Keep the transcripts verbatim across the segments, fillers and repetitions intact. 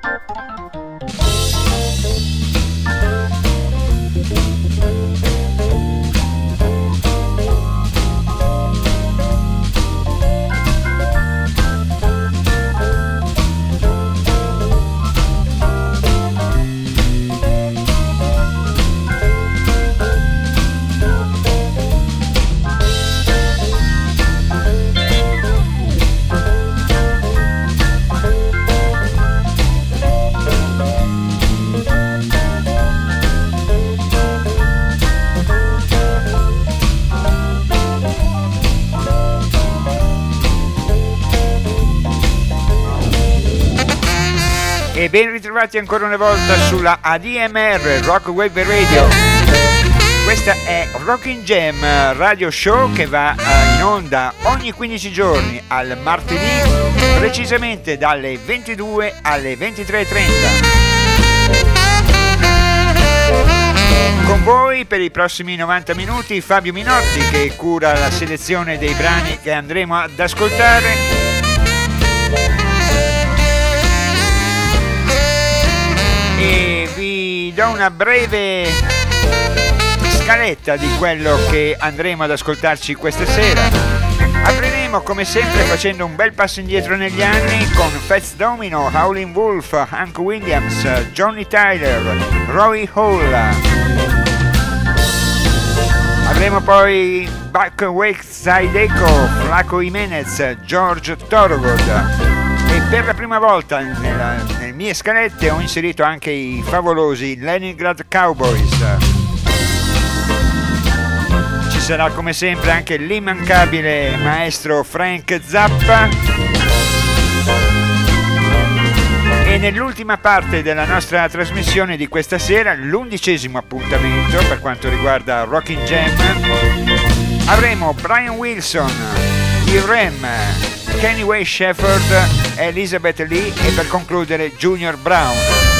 E ben ritrovati ancora una volta sulla A D M R Rock Wave Radio. Questa è Rockin' Jam Radio Show che va in onda ogni quindici giorni al martedì, precisamente dalle ventidue alle ventitré e trenta. Con voi per i prossimi novanta minuti Fabio Minotti, che cura la selezione dei brani che andremo ad ascoltare. E vi do una breve scaletta di quello che andremo ad ascoltarci questa sera. Apriremo come sempre facendo un bel passo indietro negli anni con Fats Domino, Howlin' Wolf, Hank Williams, Johnny Tyler, Roy Hall. Avremo poi Back Wake Side Echo, Flaco Jimenez, George Thorogood. E per la prima volta nella, nelle mie scalette ho inserito anche i favolosi Leningrad Cowboys. Ci sarà come sempre anche l'immancabile maestro Frank Zappa. E nell'ultima parte della nostra trasmissione di questa sera, l'undicesimo appuntamento per quanto riguarda Rockin' Jam, avremo Brian Wilson, il Rem, Kenny Way Shepherd, Elizabeth Lee e per concludere Junior Brown.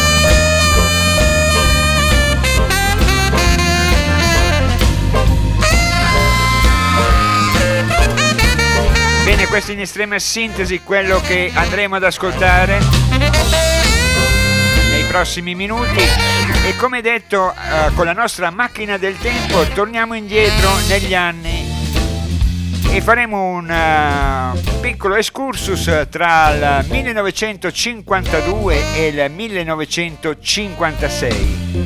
Bene, questo in estrema sintesi quello che andremo ad ascoltare nei prossimi minuti. E come detto, eh, con la nostra macchina del tempo torniamo indietro negli anni e faremo un uh, piccolo excursus tra il millenovecentocinquantadue e il millenovecentocinquantasei.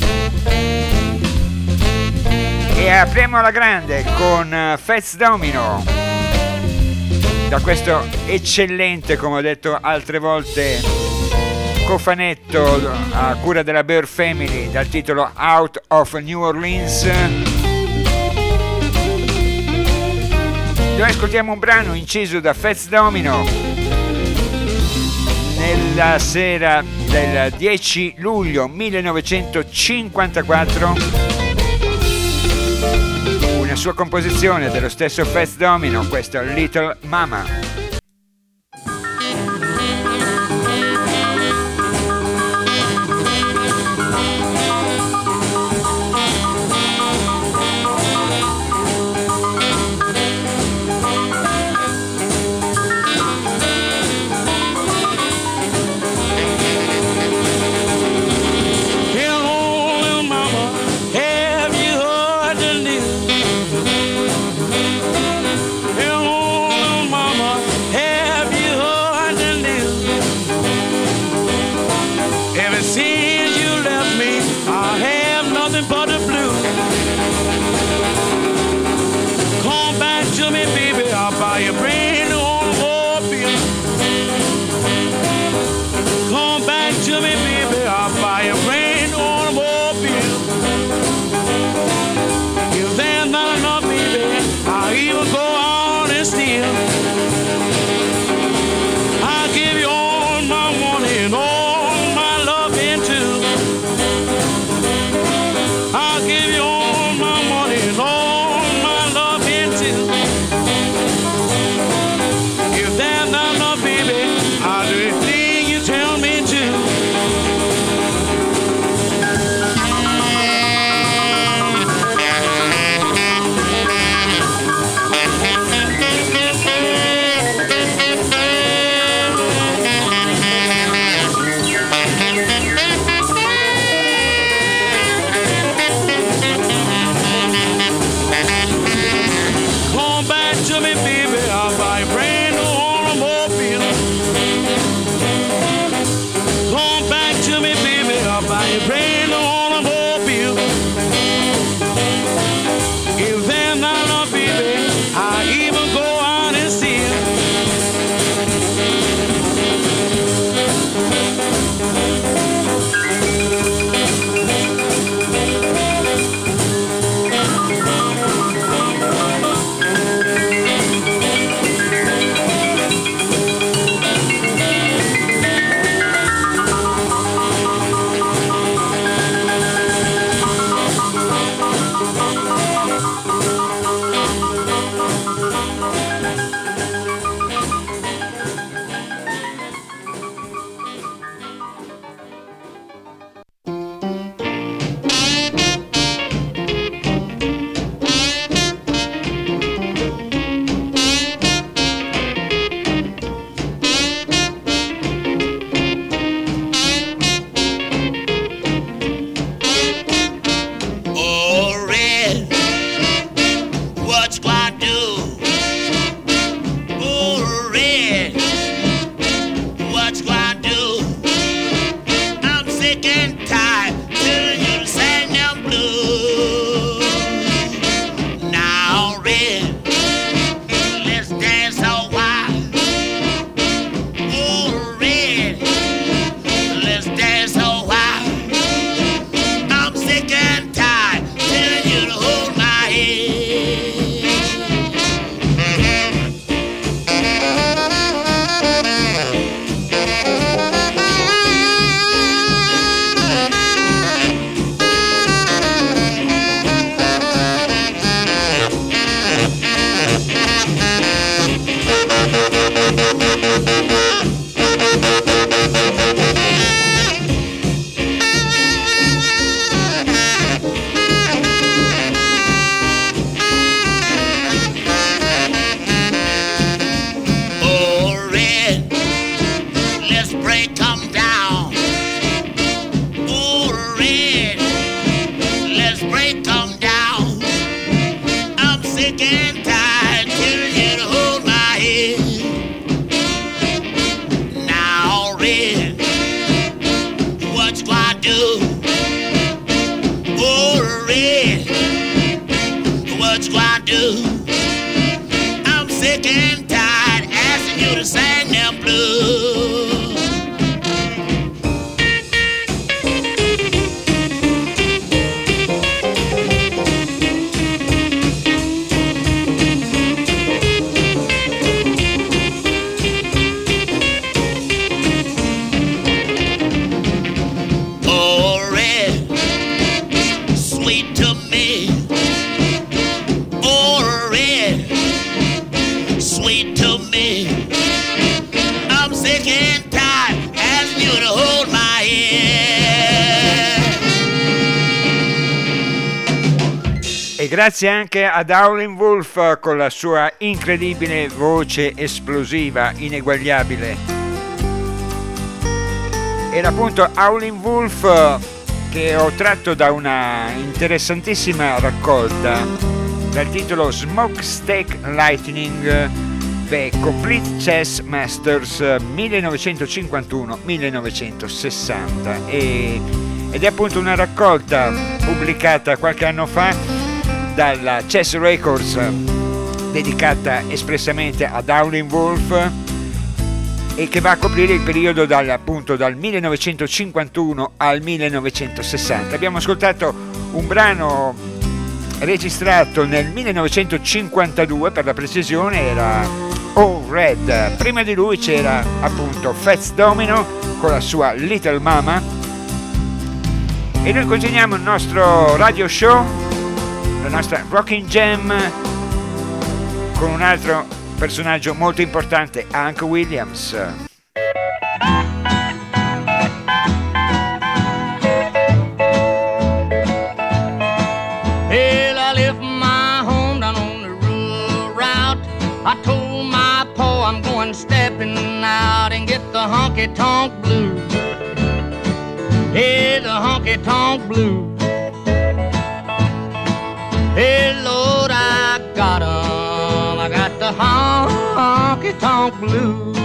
E apriamo alla grande con uh, Fats Domino, da questo eccellente, come ho detto altre volte, cofanetto a cura della Bear Family dal titolo Out of New Orleans. Noi ascoltiamo un brano inciso da Fats Domino nella sera del dieci luglio millenovecentocinquantaquattro, una sua composizione dello stesso Fats Domino, questo Little Mama. I Grazie anche ad Howlin' Wolf con la sua incredibile voce esplosiva, ineguagliabile. Era appunto Howlin' Wolf che ho tratto da una interessantissima raccolta dal titolo Smokestack Lightning The Complete Chess Masters millenovecentocinquantuno millenovecentosessanta e, ed è appunto una raccolta pubblicata qualche anno fa dalla Chess Records, dedicata espressamente ad Howlin' Wolf e che va a coprire il periodo dal, appunto dal millenovecentocinquantuno al millenovecentosessanta. Abbiamo ascoltato un brano registrato nel millenovecentocinquantadue, per la precisione era Oh Red. Prima di lui c'era appunto Fats Domino con la sua Little Mama e noi continuiamo il nostro radio show, la nostra Rockin' Jam, con un altro personaggio molto importante, Hank Williams. Well, I left my home down on the rural route. I told my pa I'm going stepping out and get the honky-tonk blues. Hey, the honky-tonk blues. Hey, Lord, I got 'em. I got the honky-tonk blues.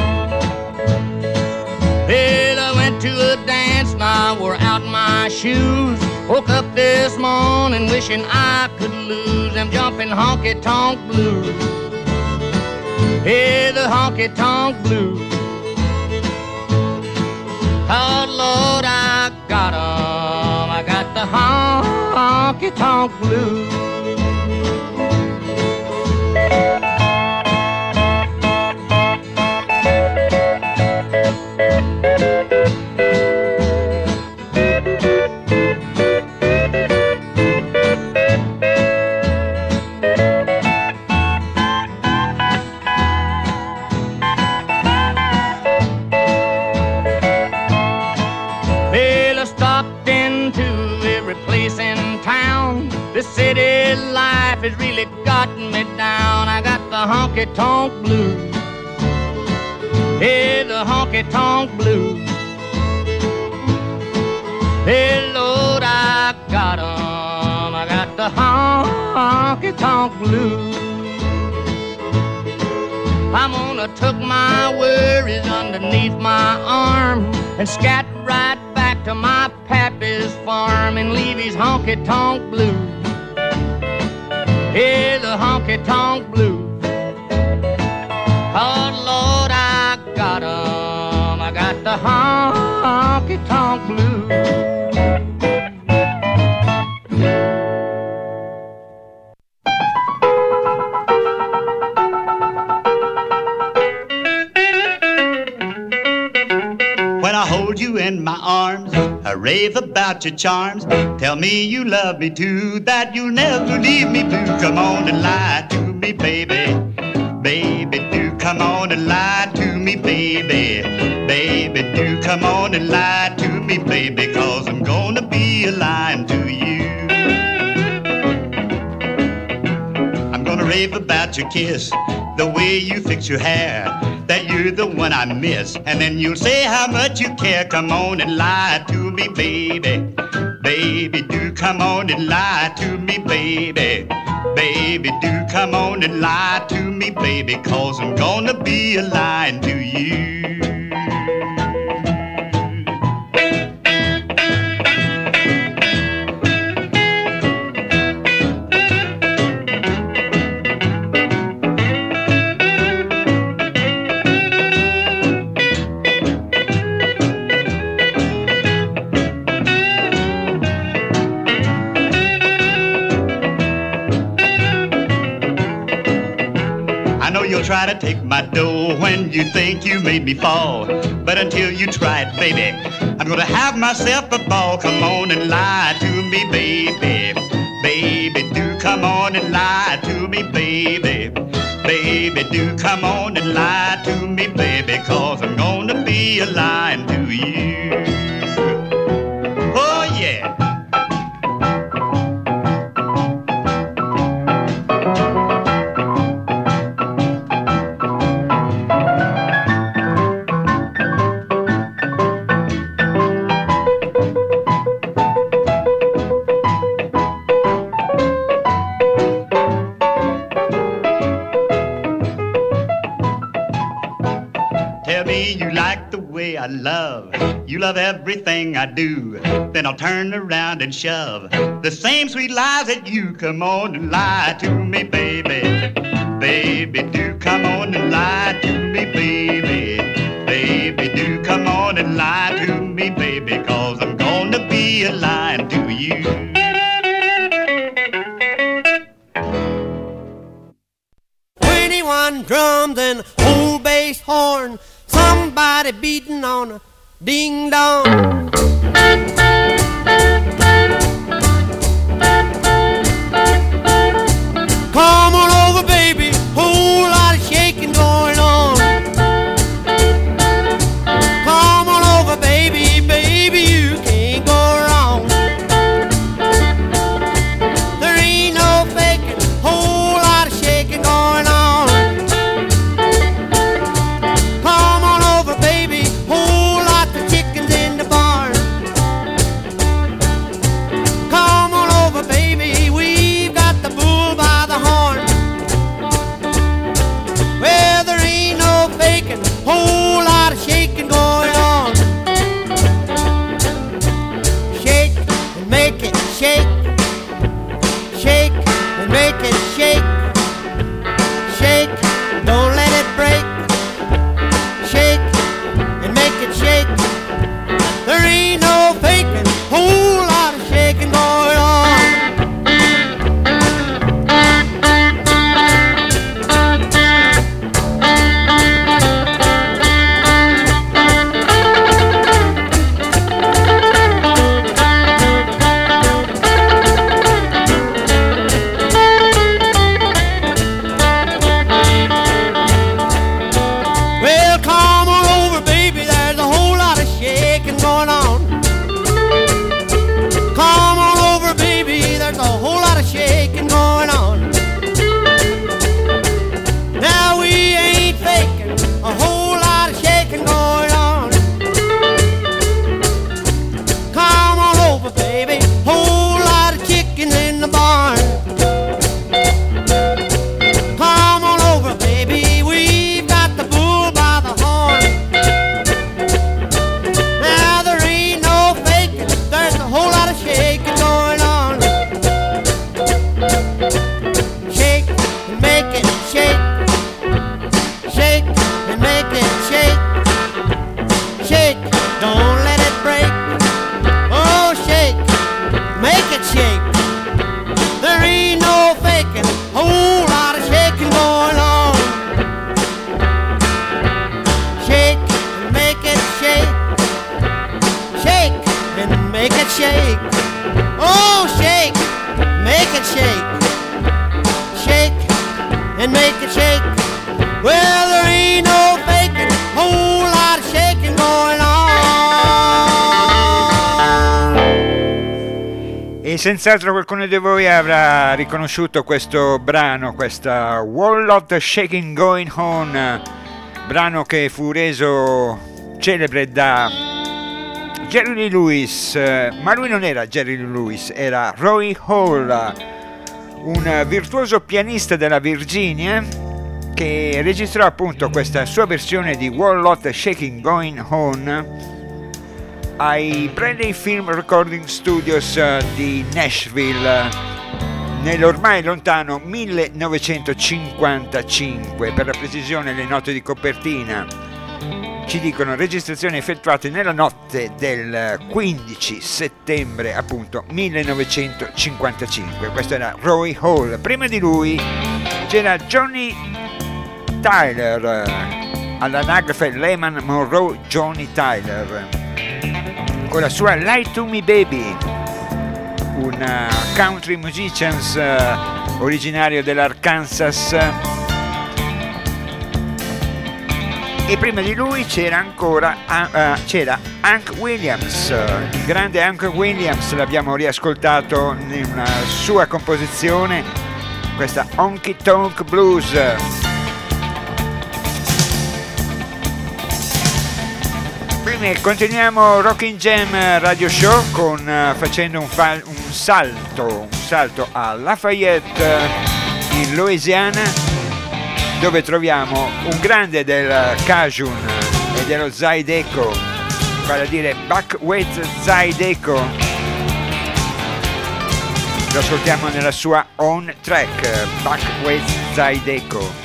Well, I went to a dance and I wore out my shoes. Woke up this morning wishing I could lose them jumping honky-tonk blues. Hey, the honky-tonk blues. Oh, Lord, I got 'em. I got the honky-tonk blues. Well, I stopped in place in town. The city life has really gotten me down. I got the honky-tonk blues. Hey, the honky-tonk blues. Hey, Lord, I got 'em. I got the honky-tonk blues. I'm gonna tuck my worries underneath my arm and scat right back to my pappy's farm and leave his honky-tonk blues. Hey, the honky-tonk blues. Oh, Lord, I got 'em. I got the honky-tonk blues. In my arms, I rave about your charms. Tell me you love me too, that you'll never leave me blue. Come on and lie to me, baby. Baby, do come on and lie to me, baby. Baby, do come on and lie to me, baby, 'cause I'm gonna be lying to you. I'm gonna rave about your kiss, the way you fix your hair, that you're the one I miss, and then you'll say how much you care. Come on and lie to me, baby. Baby, do come on and lie to me, baby. Baby, do come on and lie to me, baby, 'cause I'm gonna be lying to you. Try to take my dough when you think you made me fall, but until you try it, baby, I'm gonna have myself a ball. Come on and lie to me, baby. Baby, do come on and lie to me, baby. Baby, do come on and lie to me, baby, 'cause I'm gonna be lying to you. Oh yeah. I love, you love everything I do, then I'll turn around and shove the same sweet lies that you. Come on and lie to me, baby. Baby, do come on and lie to me, baby. Baby, do come on and lie to me, baby, 'cause I'm gonna be lying to you. twenty-one drums and old bass horn, somebody beating on a ding dong. Come on over, baby, whole lot of shaking going on. Come on over, baby, baby, you can't go wrong. There ain't no faking, whole lot of shaking going on. Come on over, baby, whole lot of chickens in the barn. make it shake. Oh, shake, make it shake. Shake and make it shake. Well, there ain't no faking, whole lot of shaking going on. E senz'altro qualcuno di voi avrà riconosciuto questo brano, questa Wall of the Shaking Going On, brano che fu reso celebre da Jerry Lee Lewis, ma lui non era Jerry Lee Lewis, era Roy Hall, un virtuoso pianista della Virginia che registrò appunto questa sua versione di Wall of the Shaking Going On ai Bradley Film Recording Studios di Nashville nell'ormai lontano millenovecentocinquantacinque. Per la precisione, le note di copertina ci dicono registrazioni effettuate nella notte del quindici settembre appunto millenovecentocinquantacinque. Questo era Roy Hall. Prima di lui c'era Johnny Tyler, all'anagrafe Lehman Monroe Johnny Tyler, con la sua Lie to Me Baby, un country musicians uh, originario dell'Arkansas. E prima di lui c'era ancora uh, c'era Hank Williams, il grande Hank Williams, l'abbiamo riascoltato in una sua composizione, questa Honky Tonk Blues. Prima continuiamo Rockin' Jam Radio Show con uh, facendo un, fa- un salto un salto a Lafayette in Louisiana, dove troviamo un grande del Cajun e dello Zydeco, vale a dire Buckwheat Zydeco. Lo ascoltiamo nella sua own track, Buckwheat Zydeco.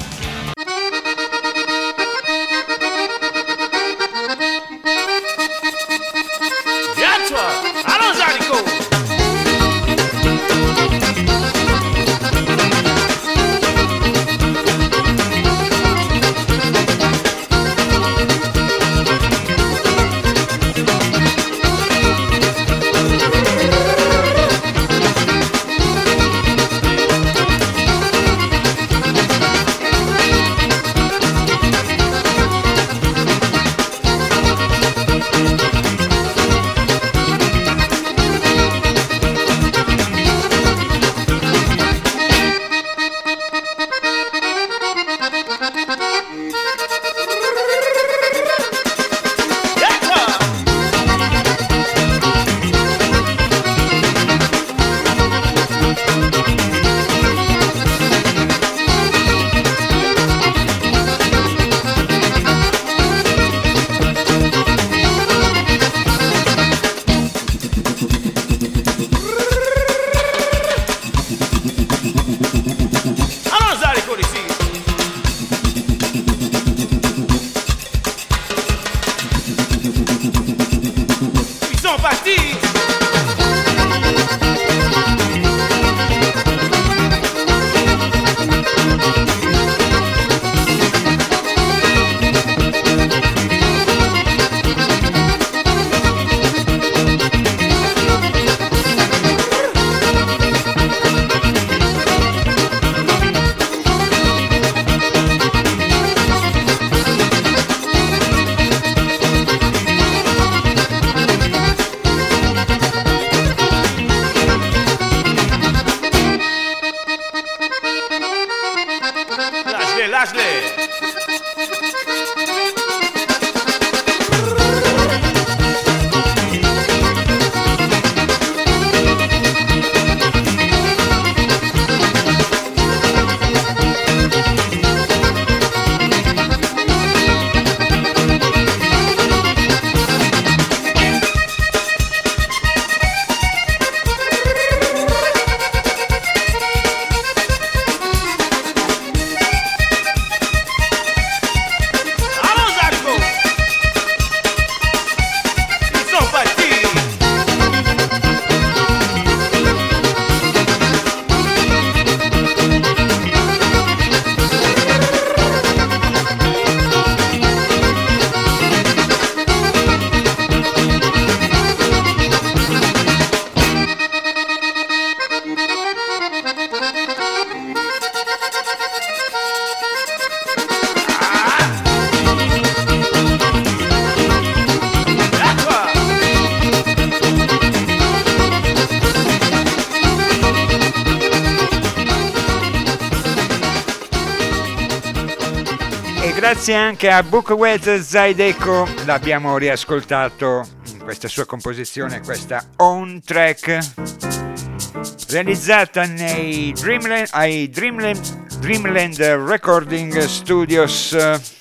Grazie anche a Bukwet Zydeco, l'abbiamo riascoltato in questa sua composizione, questa On Track, realizzata nei Dreamland, ai Dreamland, Dreamland Recording Studios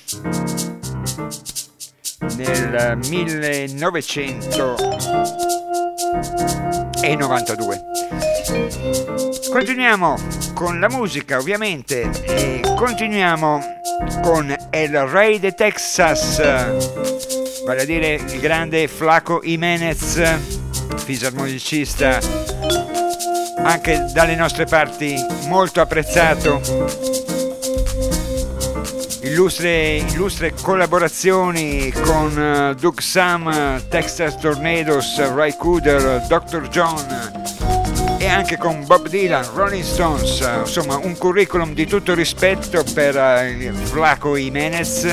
nel millenovecentonovantadue. Continuiamo con la musica, ovviamente, e continuiamo con El Rey de Texas, vale a dire il grande Flaco Jiménez, fisarmonicista anche dalle nostre parti molto apprezzato, illustre, illustre collaborazioni con uh, Doug Sam, Texas Tornadoes, Ray Cooder, doctor John e anche con Bob Dylan, Rolling Stones, insomma un curriculum di tutto rispetto per uh, Flaco Jiménez.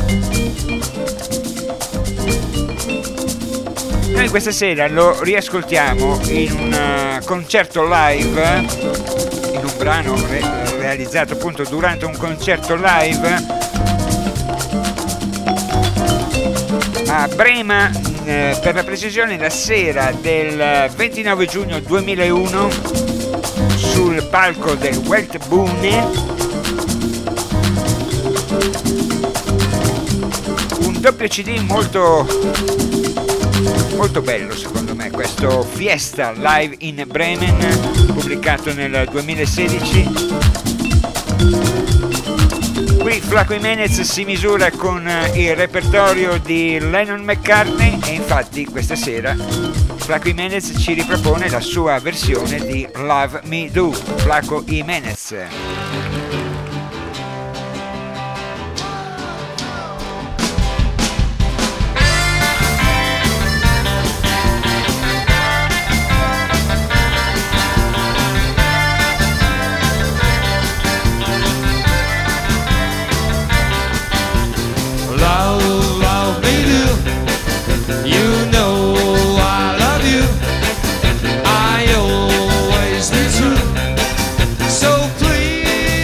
Noi questa sera lo riascoltiamo in un uh, concerto live, in un brano re- realizzato appunto durante un concerto live a Brema, eh, per la precisione la sera del ventinove giugno duemilauno, sul palco del Weltbühne. Un doppio C D molto molto bello secondo me, questo Fiesta Live in Bremen, pubblicato nel duemilasedici. Qui Flaco Jiménez si misura con il repertorio di Lennon-McCartney e infatti questa sera Flaco Jiménez ci ripropone la sua versione di Love Me Do. Flaco Jiménez. So please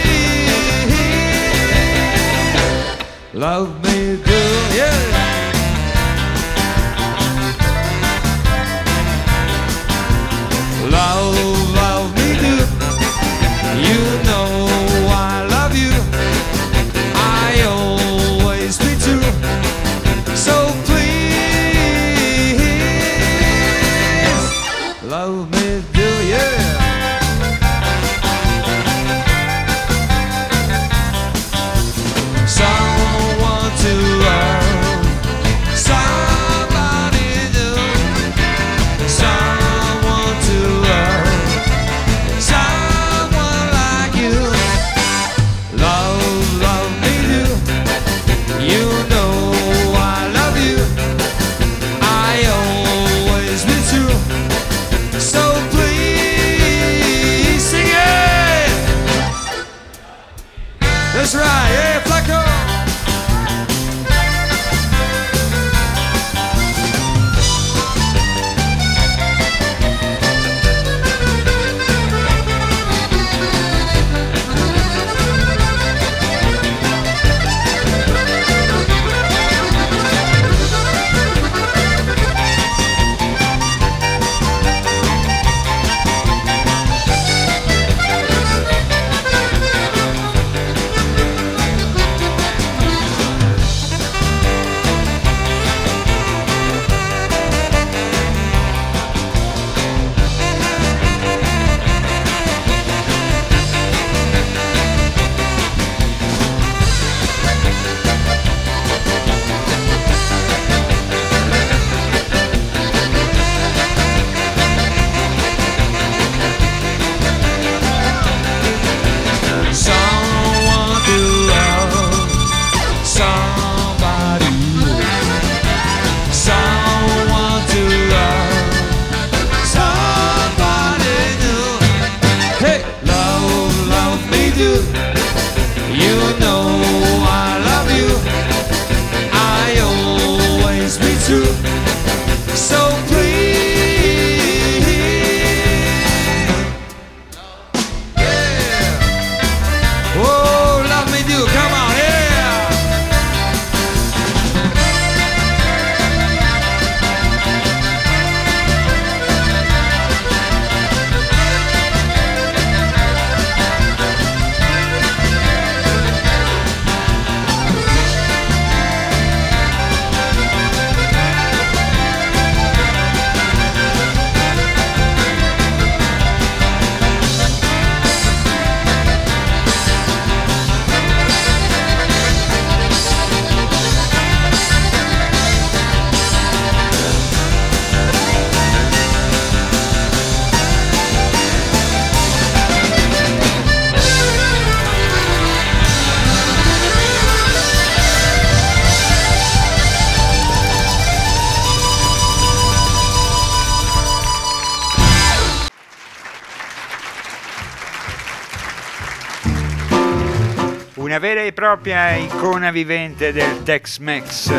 una vera e propria icona vivente del Tex-Mex.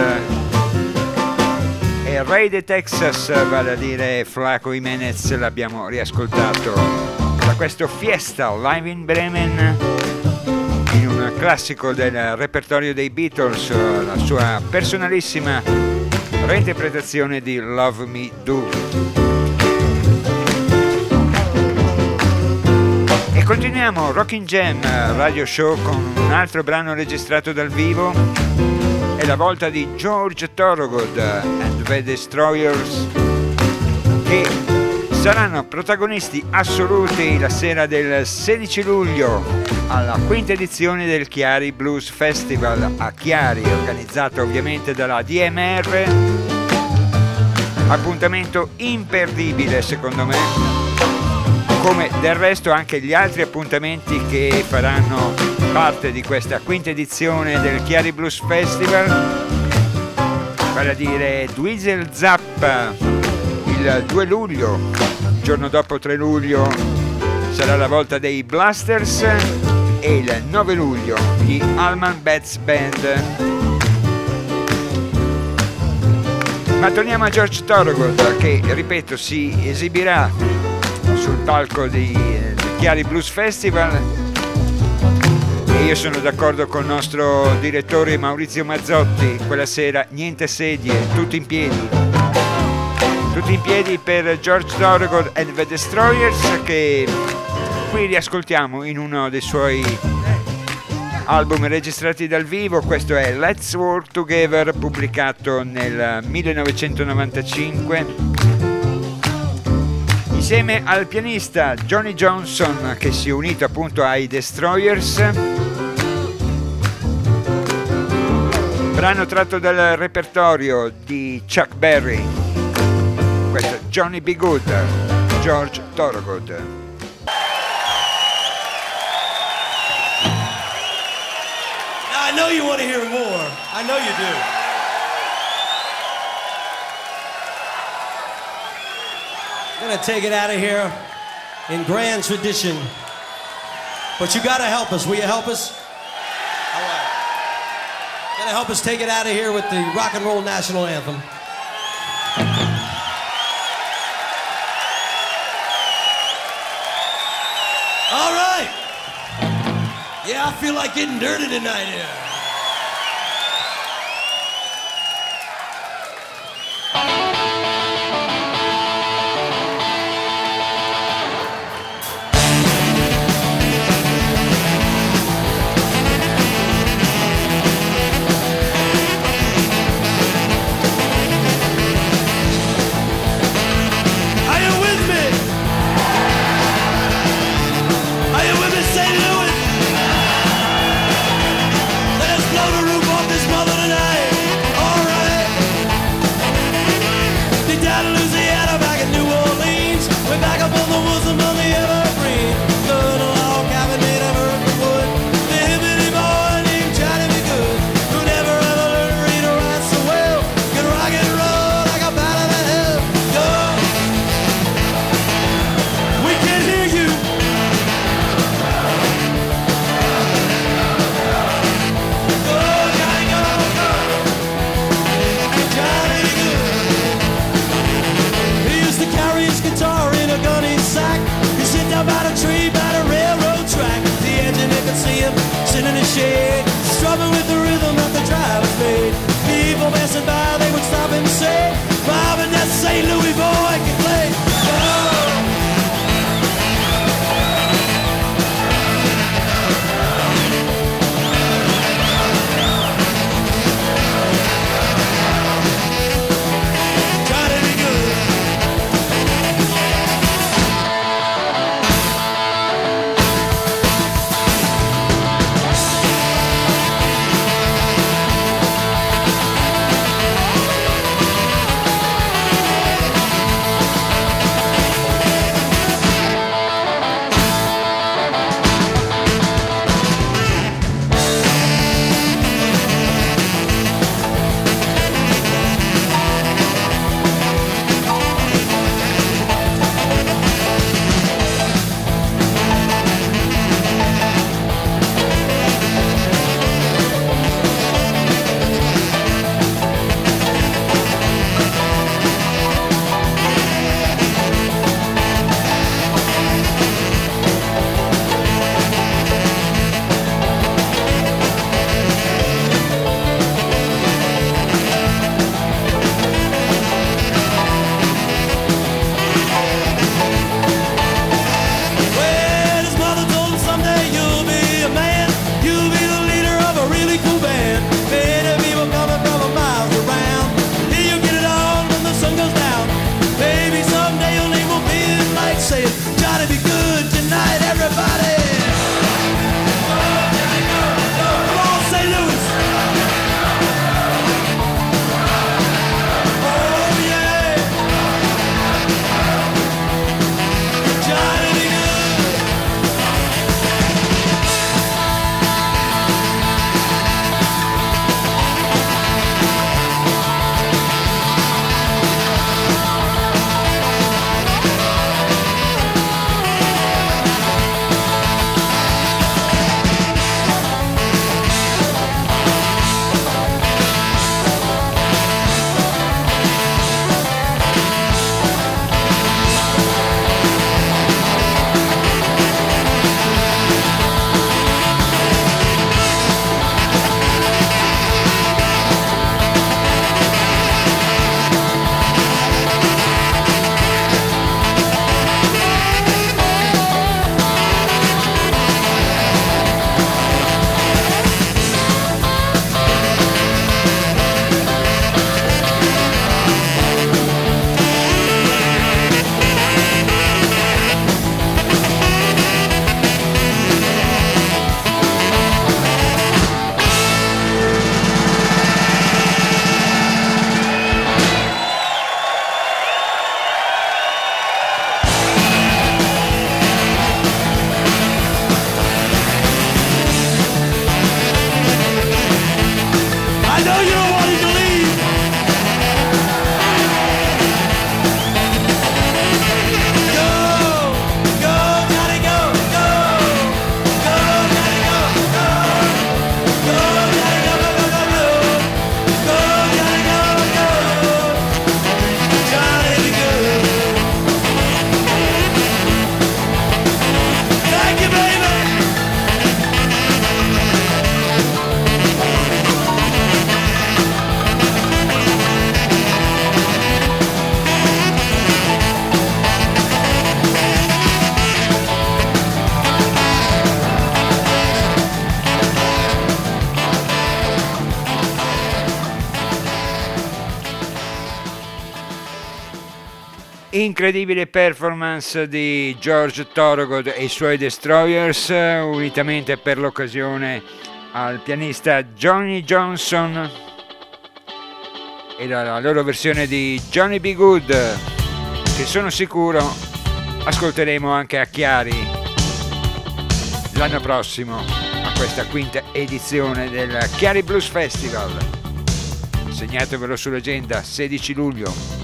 E il re de Texas, vale a dire Flaco Jimenez, l'abbiamo riascoltato da questo Fiesta Live in Bremen, in un classico del repertorio dei Beatles, la sua personalissima reinterpretazione di Love Me Do. E continuiamo Rockin' Jam Radio Show con un altro brano registrato dal vivo. È la volta di George Thorogood and the Destroyers, che saranno protagonisti assoluti la sera del sedici luglio alla quinta edizione del Chiari Blues Festival a Chiari, organizzato ovviamente dalla D M R. Appuntamento imperdibile secondo me, come del resto anche gli altri appuntamenti che faranno parte di questa quinta edizione del Chiari Blues Festival, vale a dire Dweezil Zappa il due luglio, il giorno dopo tre luglio sarà la volta dei Blasters e il nove luglio gli Allman Betts Band. Ma torniamo a George Thorogood, che ripeto si esibirà sul palco di, del Chiari Blues Festival, e io sono d'accordo con il nostro direttore Maurizio Mazzotti, quella sera niente sedie, tutti in piedi tutti in piedi per George Thorogood and the Destroyers, che qui riascoltiamo in uno dei suoi album registrati dal vivo. Questo è Let's Work Together, pubblicato nel millenovecentonovantacinque insieme al pianista Johnny Johnson, che si è unito appunto ai Destroyers. Brano tratto dal repertorio di Chuck Berry. Questo è Johnny B. Good, George Thorogood. Now, I know you want to hear more. I know you do. I'm going to take it out of here in grand tradition. But you got to help us. Will you help us? All right. Got to help us take it out of here with the rock and roll national anthem. All right. Yeah, I feel like getting dirty tonight here. Saint Louis. Incredibile performance di George Thorogood e i suoi Destroyers, unitamente per l'occasione al pianista Johnny Johnson e la loro versione di Johnny B. Good, che sono sicuro ascolteremo anche a Chiari l'anno prossimo a questa quinta edizione del Chiari Blues Festival. Segnatevelo sull'agenda, sedici luglio.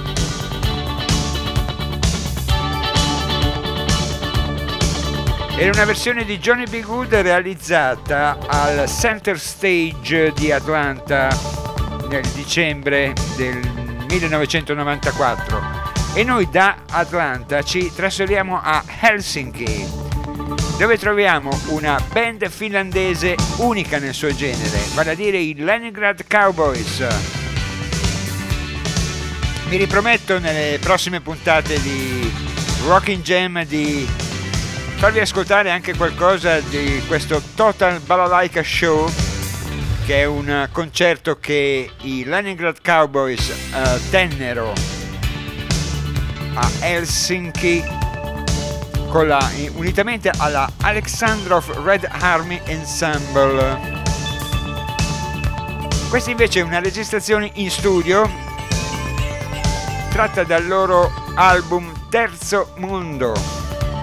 Era una versione di Johnny B. Good realizzata al Center Stage di Atlanta nel dicembre del millenovecentonovantaquattro e noi da Atlanta ci trasferiamo a Helsinki, dove troviamo una band finlandese unica nel suo genere, vale a dire i Leningrad Cowboys. Mi riprometto nelle prossime puntate di Rockin' Jam di farvi ascoltare anche qualcosa di questo Total Balalaika Show, che è un concerto che i Leningrad Cowboys uh, tennero a Helsinki con la, unitamente alla Alexandrov Red Army Ensemble. Questa invece è una registrazione in studio tratta dal loro album Terzo Mondo.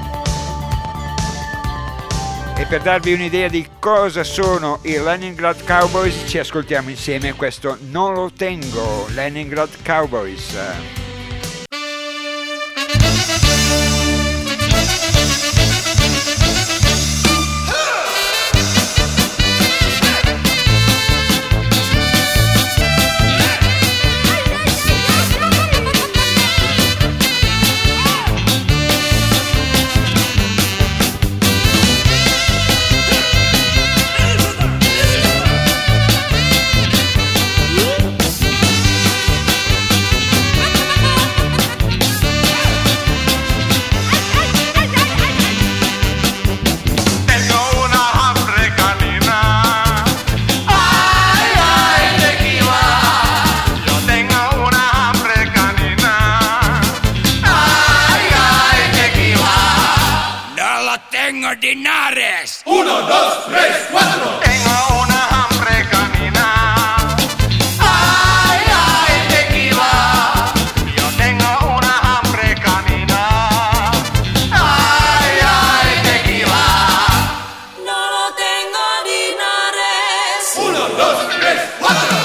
E per darvi un'idea di cosa sono i Leningrad Cowboys ci ascoltiamo insieme questo Non lo tengo, Leningrad Cowboys. Linares. Uno, dos, tres, cuatro. Tengo una hambre canina. Ay, ay, tequila. Yo tengo una hambre canina. Ay, ay, tequila. No lo tengo, Linares. Uno, dos, tres, cuatro.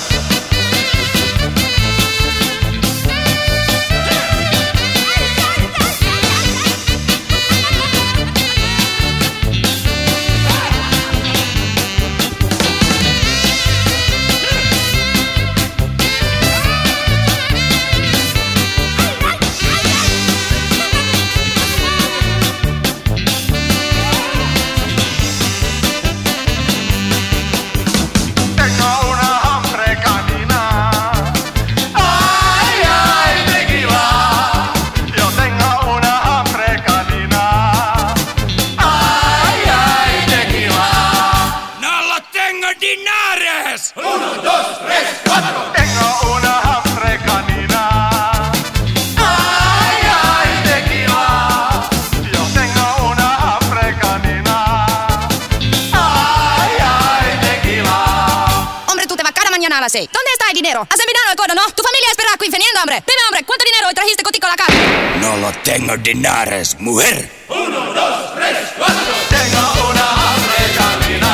Sei. ¿Dónde está el dinero? ¿Has envenenado el codo, no? Tu familia espera aquí infiniendo, hombre. Dime, hombre, ¿cuánto dinero trajiste contigo a la casa? No lo tengo dinares, mujer. Uno, dos, tres, cuatro. Tengo una hambre canina.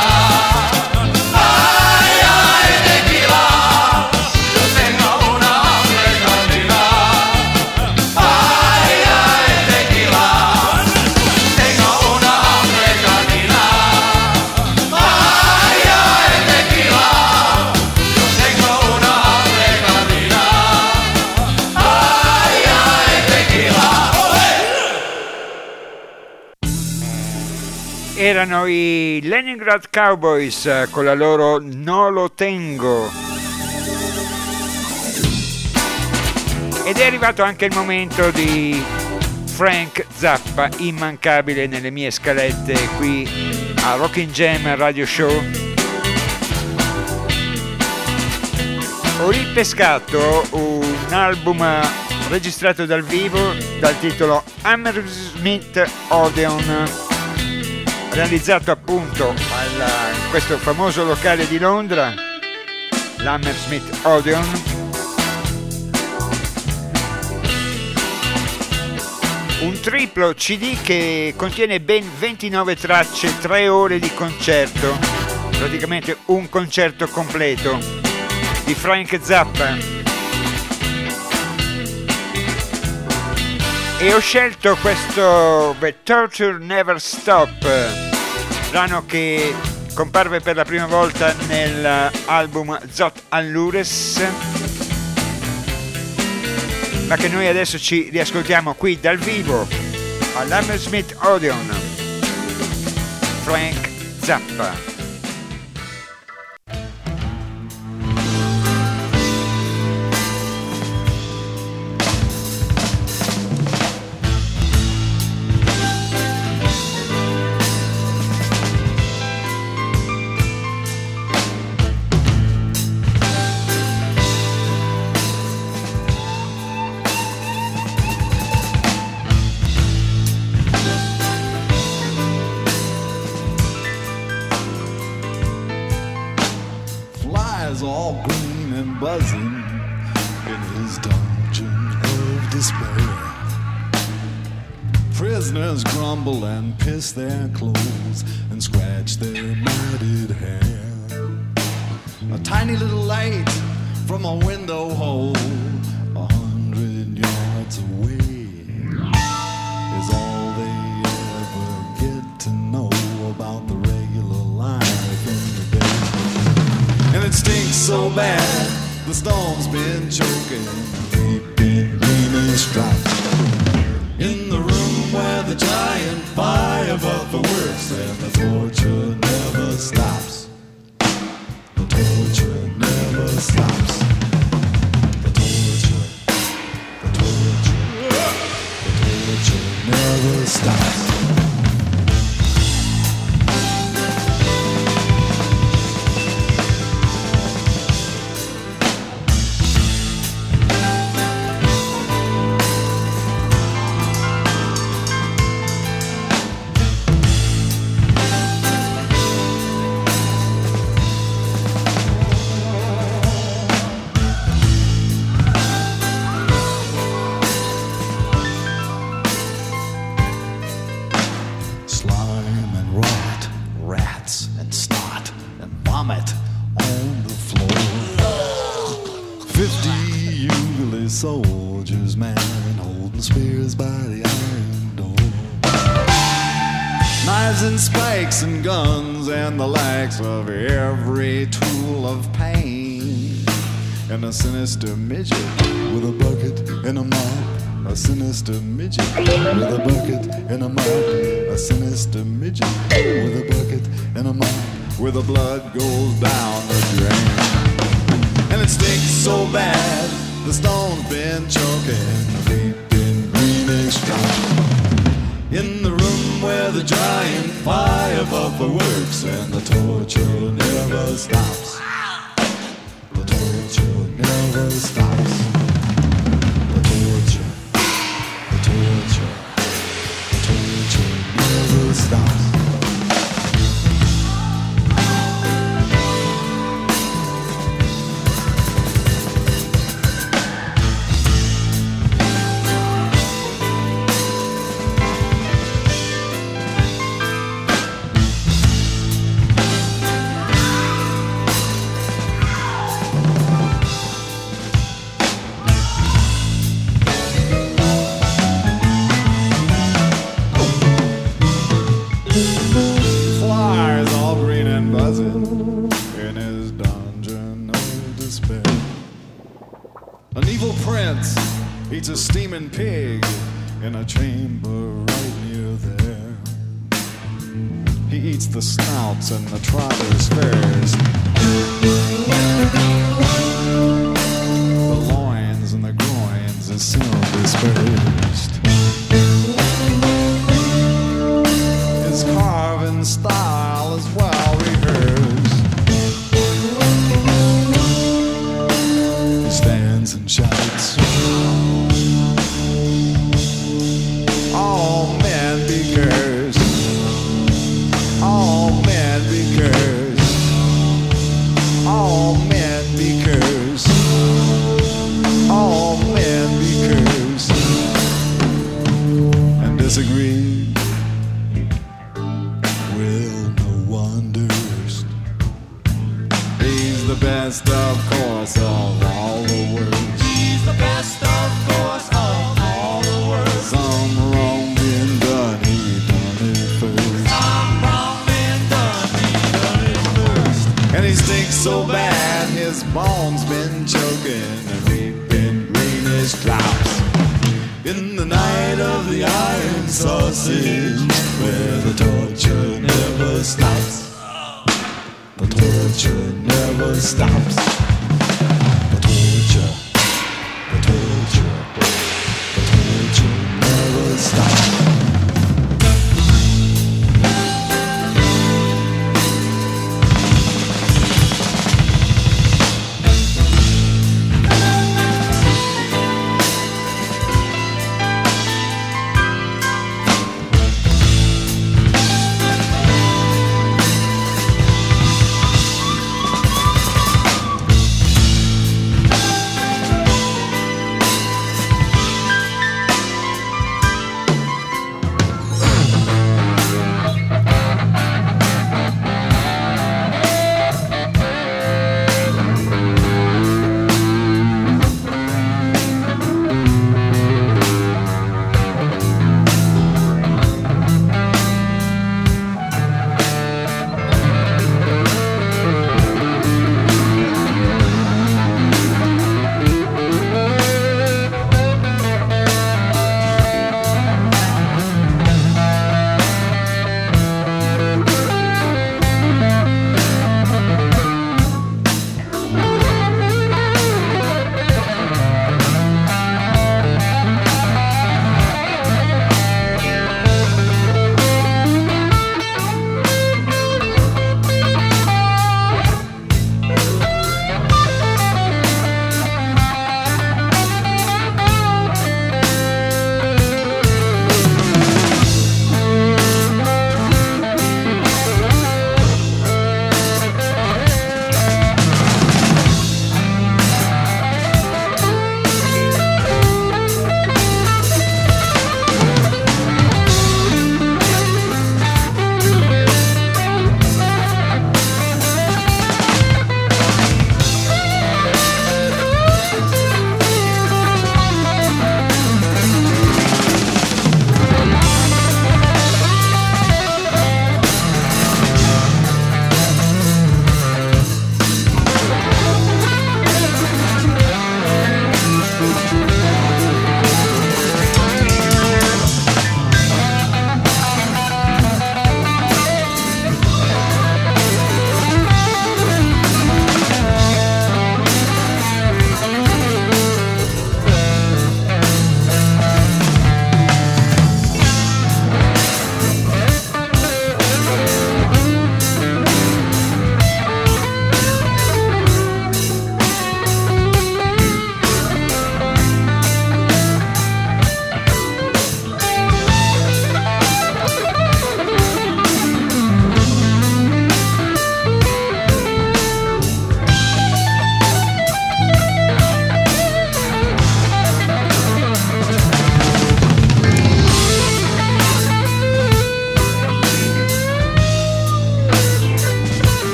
Ay, ay, tequila. Yo tengo una hambre canina. Ay, ay, tequila. Tengo una hambre canina. Ay, ay, tequila. Erano i Leningrad Cowboys con la loro No lo tengo. Ed è arrivato anche il momento di Frank Zappa, immancabile nelle mie scalette qui a Rockin' Jam Radio Show. Ho ripescato un album registrato dal vivo dal titolo Hammersmith Odeon, realizzato appunto al, in questo famoso locale di Londra, l'Hammersmith Odeon. Un triplo C D che contiene ben ventinove tracce, tre ore di concerto, praticamente un concerto completo di Frank Zappa. E ho scelto questo The Torture Never Stop, brano che comparve per la prima volta nell'album Zot Allures, ma che noi adesso ci riascoltiamo qui dal vivo all'Hammersmith Odeon. Frank Zappa. And piss their clothes and scratch their matted hair. A tiny little light from a window hole a hundred yards away is all they ever get to know about the regular life in the day. And it stinks so bad, the storm's been choking, they've been green stripes. In the room where the giant fire above the works and the torture never stops. The torture never stops. The torture, the torture, the torture never stops. Soldiers, man, holding spears by the iron door. Knives and spikes and guns and the likes of every tool of pain. And a sinister midget with a bucket and a mop. A sinister midget with a bucket and a mop. A sinister midget with a bucket and a mop. Where the blood goes down the drain. And it stinks so bad, the stone's been choking, deep in greenish stripes. In the room where the giant fire above the works and the torture never stops. The torture never stops. The torture, the torture, the torture never stops. Eats a steaming pig in a chamber right near there. He eats the snouts and the trotters first, the loins and the groins are soon dispersed. His carving style is well rehearsed. He stands and shouts, this bomb's been choking and we've been green as clouds. In the night of the iron sausage, where the torture never stops. The torture never stops. The torture, the torture, the torture never stops.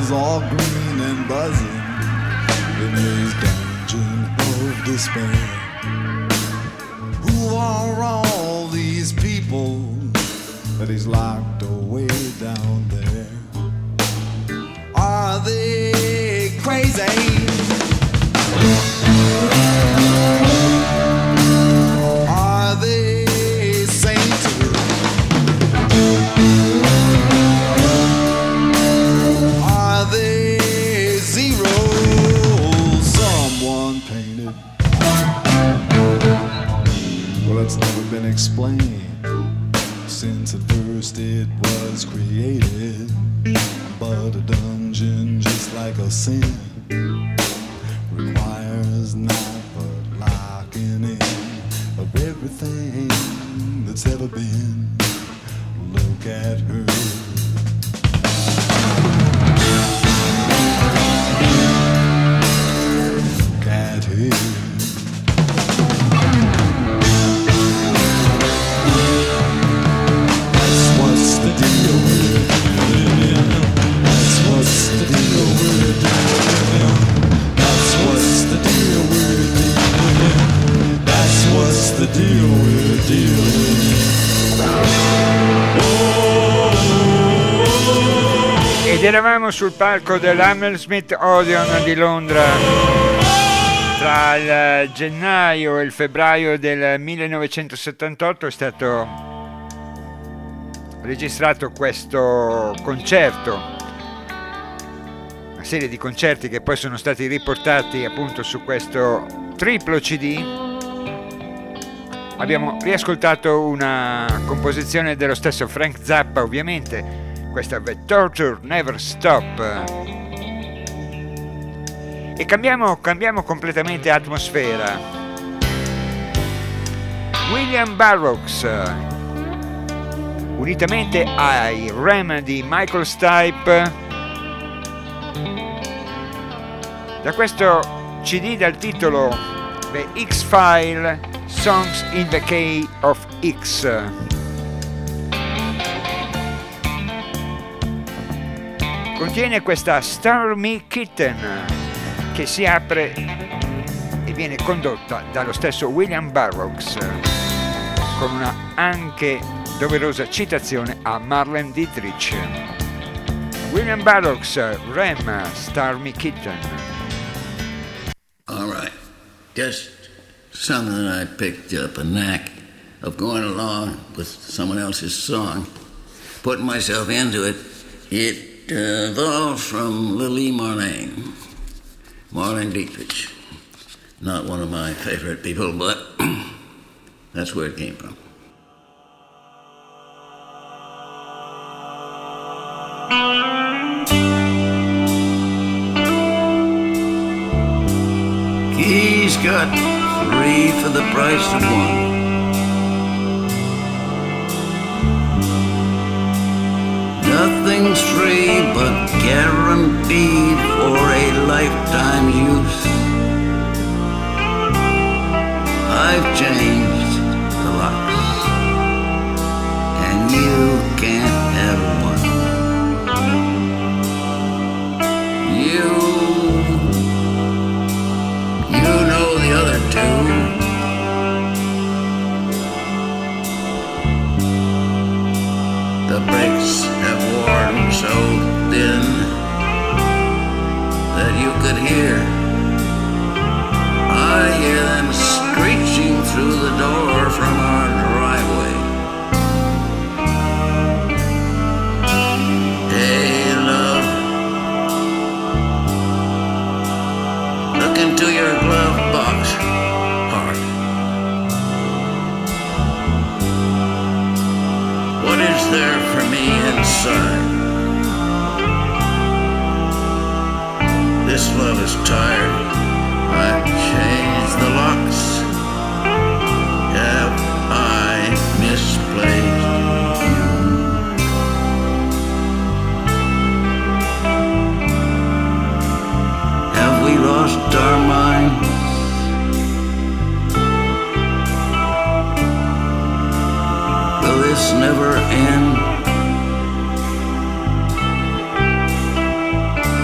eyes all green and buzzing in his dungeon of despair. Who are all these people that he's locked away down there? Are they crazy? Are they sainted? Are they zero? Someone painted. Well, it's never been explained since at first it was created. But a dungeon, just like a sin, requires not but locking in of everything that's ever been. Look at her. Look at her. That's what's the deal with it. That's what's the deal with it. That's what's the deal with it. That's what's the deal with it. Deal with it. Ed eravamo sul palco dell'Hammersmith Odeon di Londra tra il gennaio e il febbraio del millenovecentosettantotto. È stato registrato questo concerto, una serie di concerti che poi sono stati riportati appunto su questo triplo C D. Abbiamo riascoltato una composizione dello stesso Frank Zappa, ovviamente, questa The Torture Never Stop. E cambiamo, cambiamo completamente atmosfera. William Burroughs, unitamente ai Rem di Michael Stipe, da questo C D dal titolo The X-File Songs in the Key of X. Contiene questa Stormy Kitten che si apre e viene condotta dallo stesso William Burroughs, con una anche doverosa citazione a Marlene Dietrich. William Burroughs, Rem, Stormy Kitten. All right, just something I picked up a knack of going along with someone else's song, putting myself into it. It uh, evolved from Lily Marlene, Marlene Dietrich. Not one of my favorite people, but that's where it came from. He's got three for the price of one. Nothing's free but guaranteed for a lifetime's use. I've changed the locks, and you can't have one. You, you know the other two. The bricks have worn so thin that you could hear. I hear them screeching through the door from our driveway. Hey, love, look into your glove box, heart. What is there for me inside? This love is tired. I've changed the locks. Have I misplaced you? Have we lost our minds? Will this never end?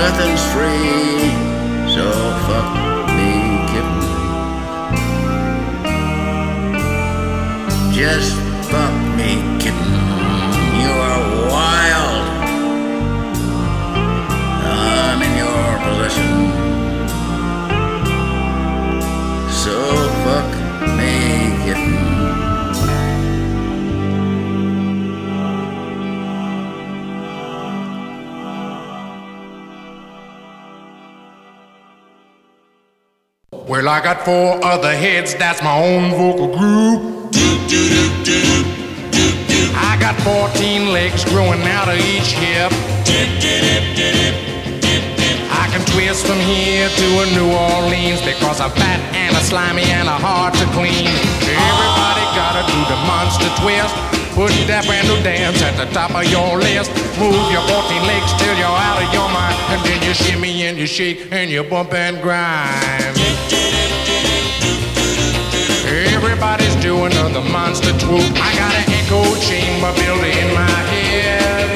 nothing's free, so fuck me, kitten. Just fuck me, kitten. You are wild. I'm in your possession. So fuck me, kitten. Well, I got four other heads, that's my own vocal group. I got fourteen legs growing out of each hip. I can twist from here to a New Orleans because I'm fat and a slimy and a hard to clean. Everybody gotta do the monster twist. Put that brand new dance at the top of your list. Move your fourteen legs till you're out of your mind. And then you shimmy and you shake and you bump and grind. Everybody's doing the monster swoop. I got an echo chamber built in my head.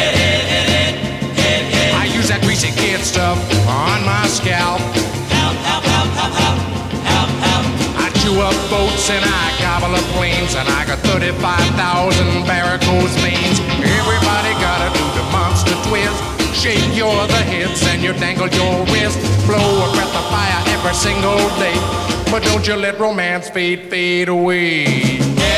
I use that greasy kid stuff on my scalp. Help, help, help, help, help, help, help. I chew up boats and I gobble up planes, and I got thirty-five thousand varicose veins. Everybody gotta do the monster twist. Shake your other hips and you dangle your wrist. Blow a breath of fire every single day, but don't you let romance fade, fade away.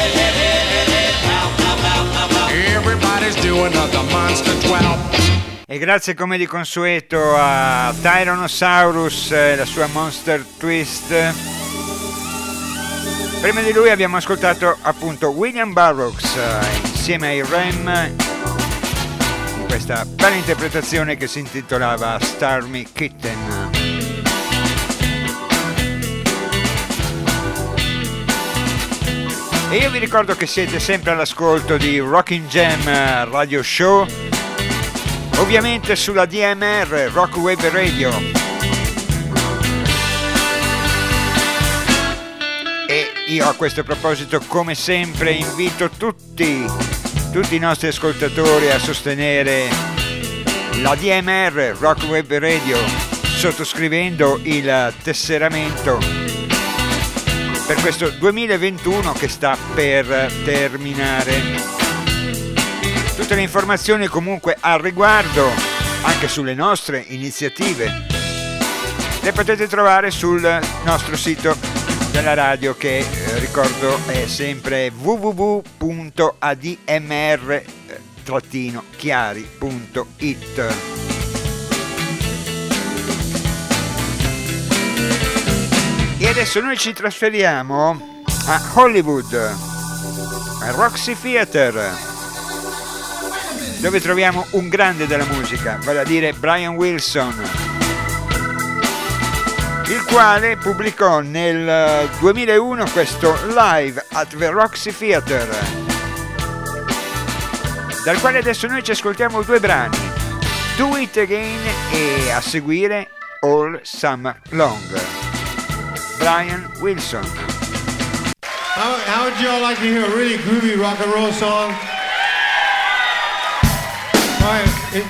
Everybody's doing the monster twelve. E grazie come di consueto a Tyrannosaurus e la sua Monster Twist. Prima di lui abbiamo ascoltato appunto William Burroughs insieme ai Rem in questa bella interpretazione che si intitolava Stormy Kitten. E io vi ricordo che siete sempre all'ascolto di Rockin' Jam Radio Show, ovviamente sulla D M R, Rock Web Radio. E io a questo proposito, come sempre, invito tutti, tutti i nostri ascoltatori a sostenere la D M R, Rock Web Radio, sottoscrivendo il tesseramento per questo duemilaventuno che sta per terminare. Tutte le informazioni comunque al riguardo, anche sulle nostre iniziative, le potete trovare sul nostro sito della radio che eh, ricordo è sempre w w w punto a d m r chiari punto i t. E adesso noi ci trasferiamo a Hollywood, a Roxy Theater, dove troviamo un grande della musica, vale a dire Brian Wilson, il quale pubblicò nel duemilauno questo Live at the Roxy Theater, dal quale adesso noi ci ascoltiamo due brani, Do It Again e a seguire All Summer Long. Brian Wilson. How, how would you all like to hear a really groovy rock and roll song? All right. It,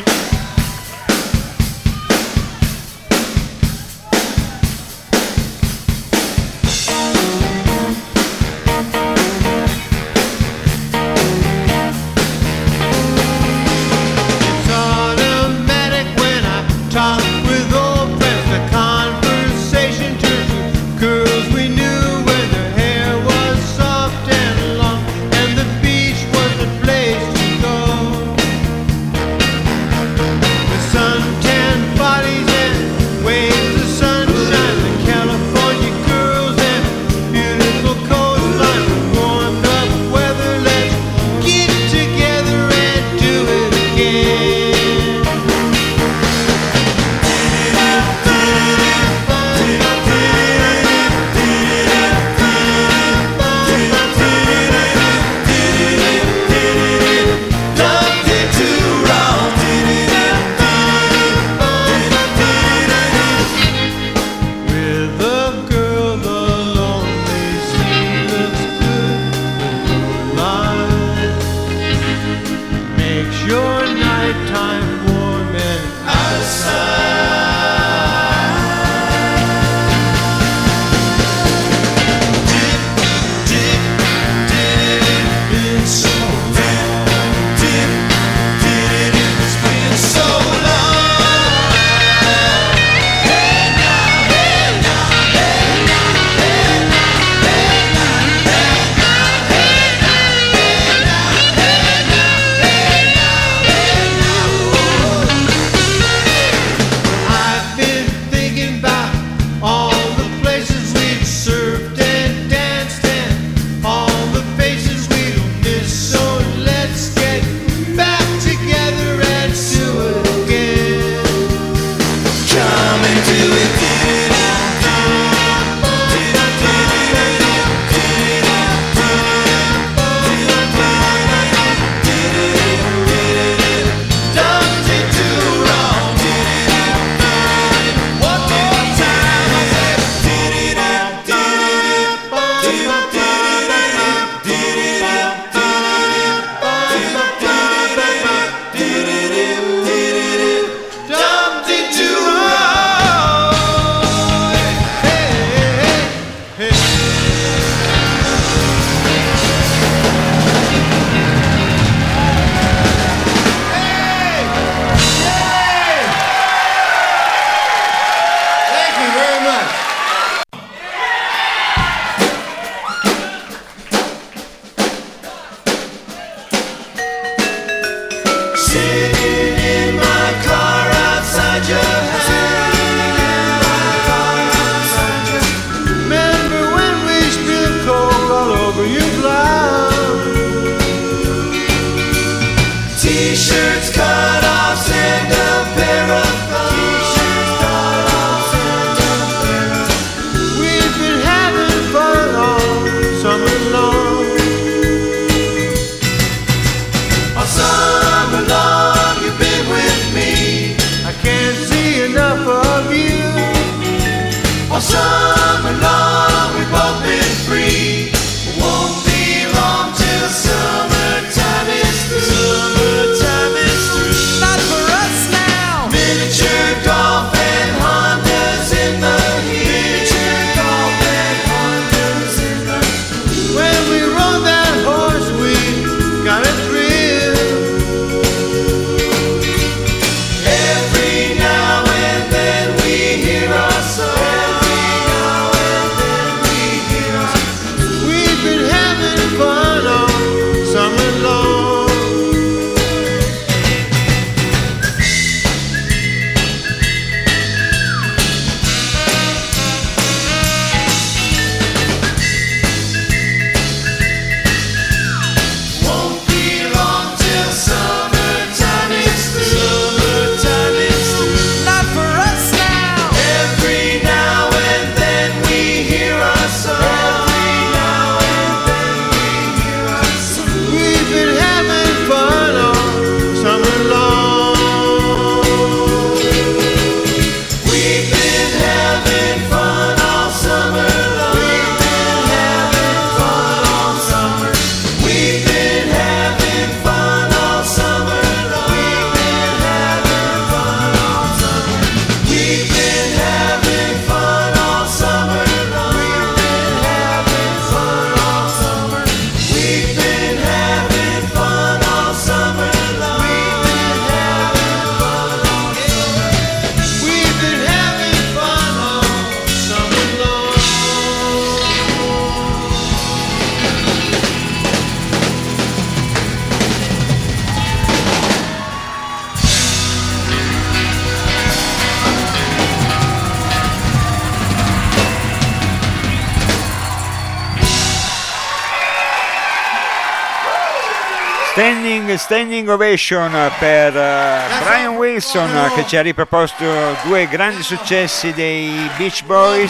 Standing, standing ovation per uh, Brian Wilson che ci ha riproposto due grandi successi dei Beach Boys,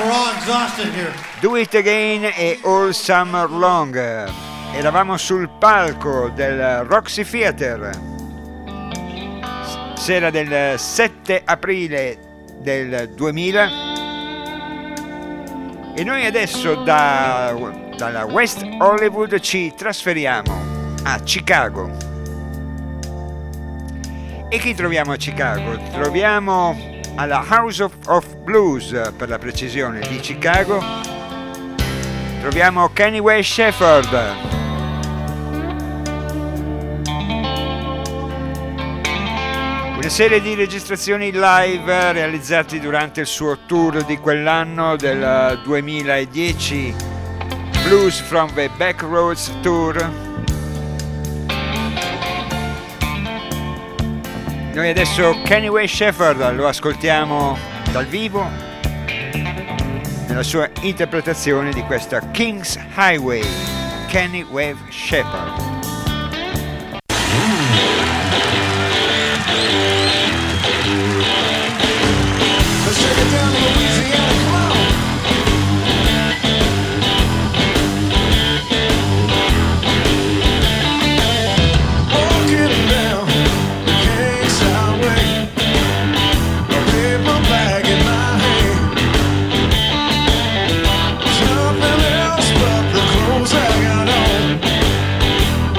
Do It Again e All Summer Long. Eravamo sul palco del Roxy Theater, sera del sette aprile del duemila, e noi adesso da, dalla West Hollywood ci trasferiamo a Chicago. E chi troviamo a Chicago? Troviamo alla House of, of Blues, per la precisione, di Chicago. Troviamo Kenny Wayne Shepherd. Una serie di registrazioni live realizzati durante il suo tour di quell'anno del duemiladieci, Blues from the Backroads Tour. Noi adesso Kenny Wayne Shepherd lo ascoltiamo dal vivo nella sua interpretazione di questa King's Highway, Kenny Wayne Shepherd. Nothing else but the clothes I got on.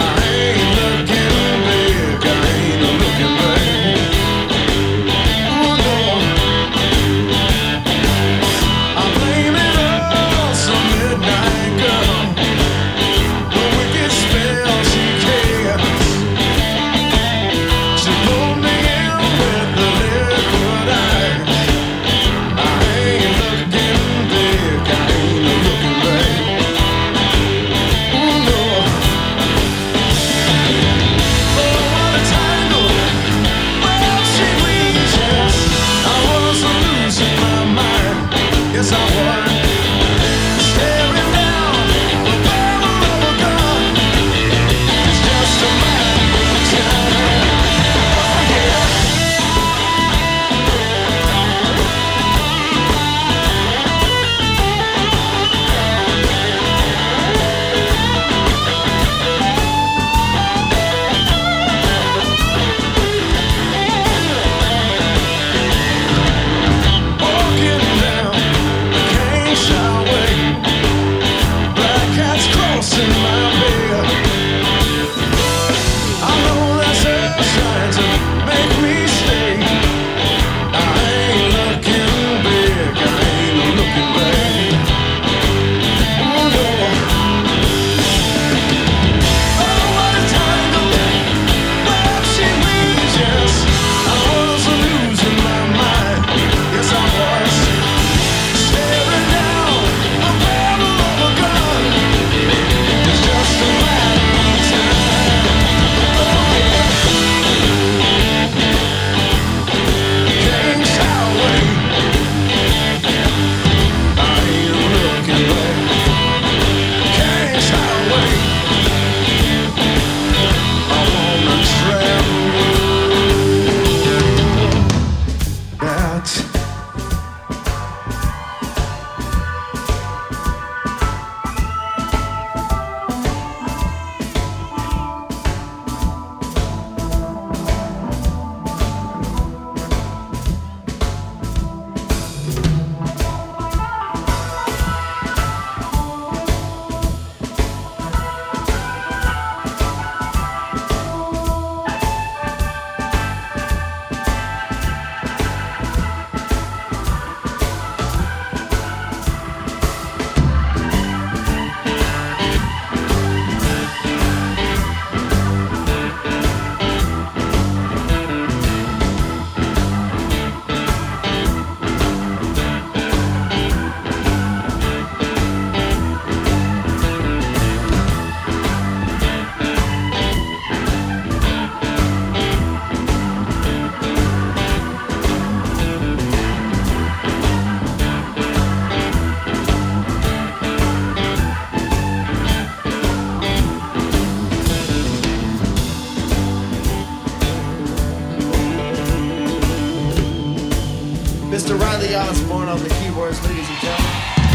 Mister Riley Osborne on the keyboards, ladies and gentlemen.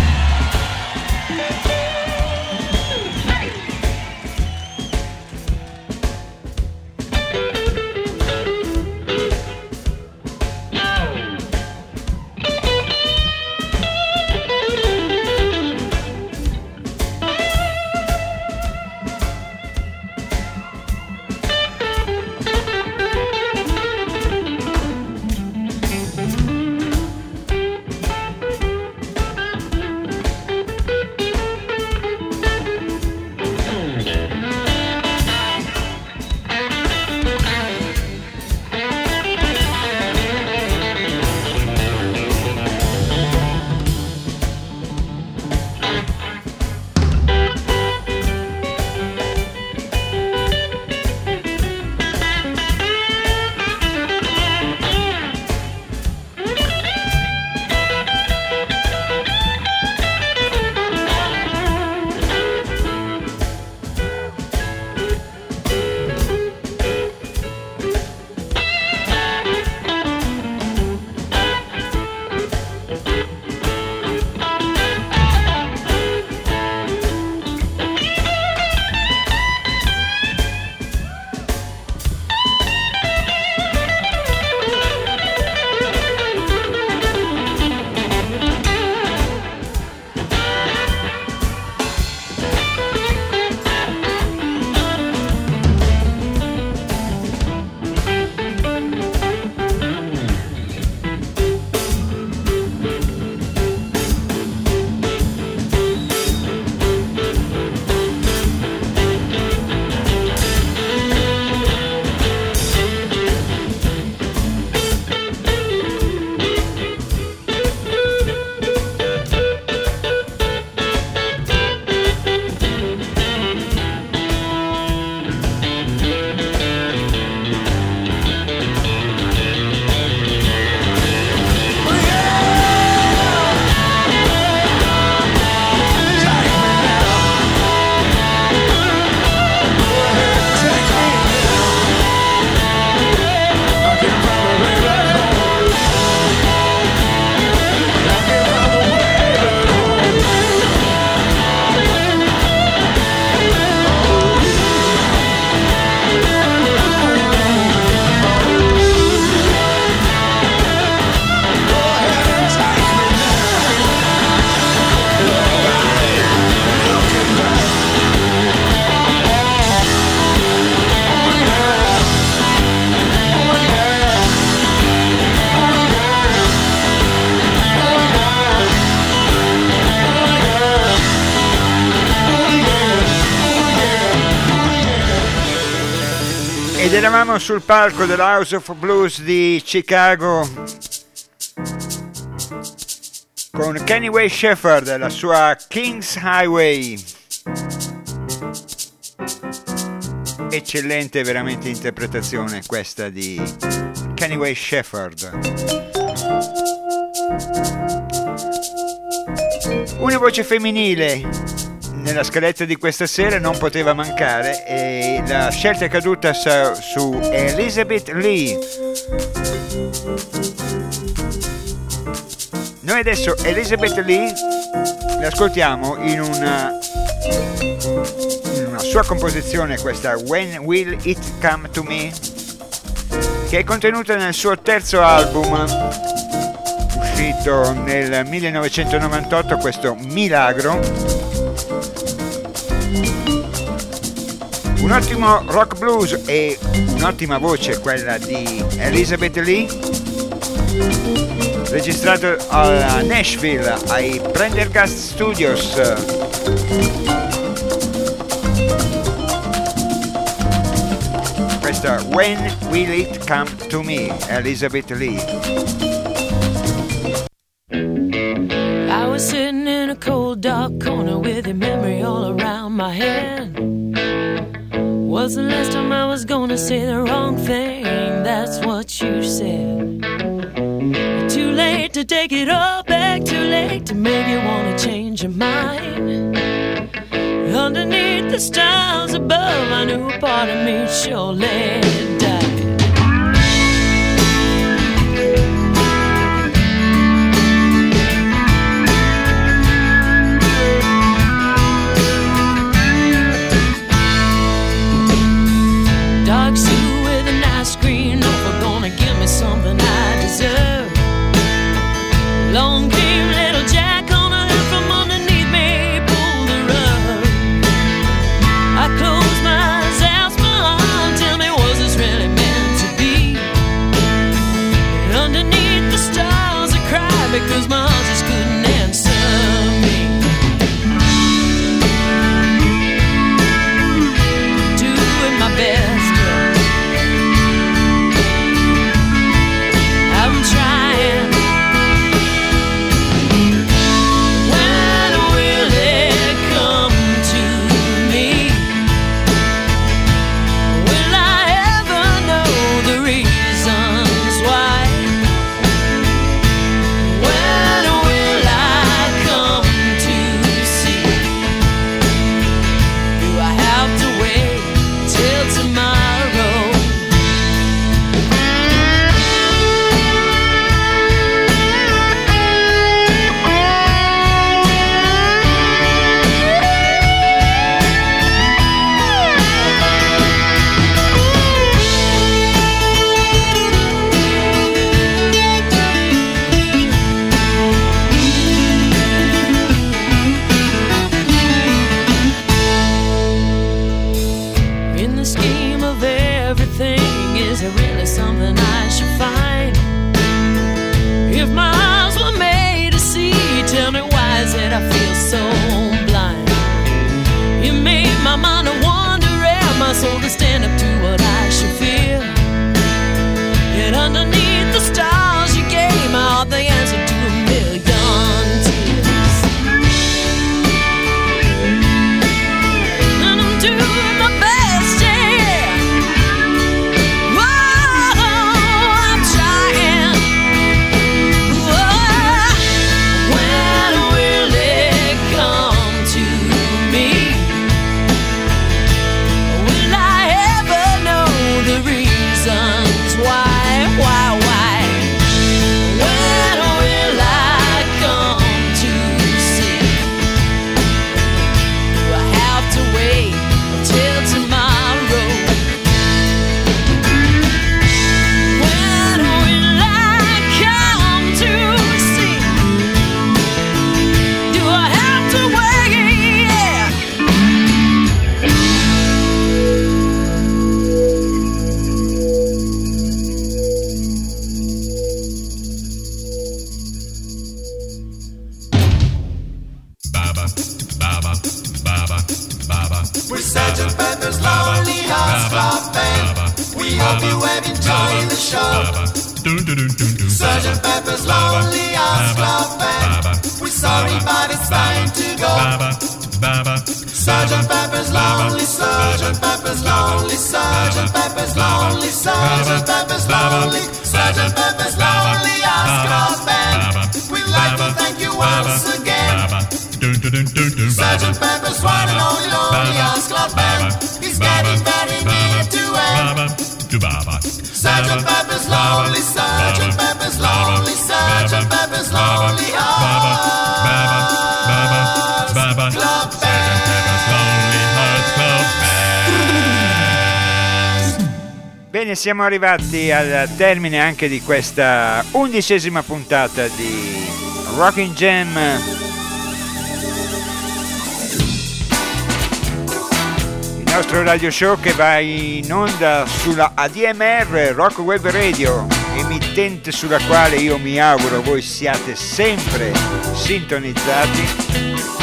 Ed eravamo sul palco dell'House of Blues di Chicago con Kenny Wayne Shepherd, la sua King's Highway. Eccellente veramente interpretazione questa di Kenny Wayne Shepherd. Una voce femminile nella scaletta di questa sera non poteva mancare e la scelta è caduta su Elizabeth Lee. Noi adesso Elizabeth Lee l'ascoltiamo in una, in una sua composizione, questa When Will It Come to Me, che è contenuta nel suo terzo album uscito nel millenovecentonovantotto, questo Milagro. Un ottimo rock blues e un'ottima voce quella di Elizabeth Lee, registrato a Nashville ai Prendergast Studios. Questa When Will It Come to Me, Elizabeth Lee. I was sitting in a cold dark corner with your memory all around my head. Was the last time I was gonna say the wrong thing, that's what you said. Too late to take it all back, too late to make you wanna change your mind. Underneath the stars above, I knew a part of me surely died. Sergeant Pepper's Lonely Hearts Club Band. We're sorry, but it's time to go. Sergeant Pepper's Lonely, Sergeant Pepper's Lonely, Sergeant Pepper's Lonely, Sergeant Pepper's Lonely, Sergeant Pepper's Lonely Hearts Club Band. We'd like to thank you once again. Sergeant Pepper's one and only Lonely Hearts Club Band. He's getting very near to end. Sergeant Pepper's Lonely, Sergeant Pepper's Lonely, Sergeant Pepper's Lonely Hearts Club Band. Bene, siamo arrivati al termine anche di questa undicesima puntata di Rockin' Jam. Il nostro radio show che va in onda sulla A D M R, Rock Web Radio, emittente sulla quale io mi auguro voi siate sempre sintonizzati.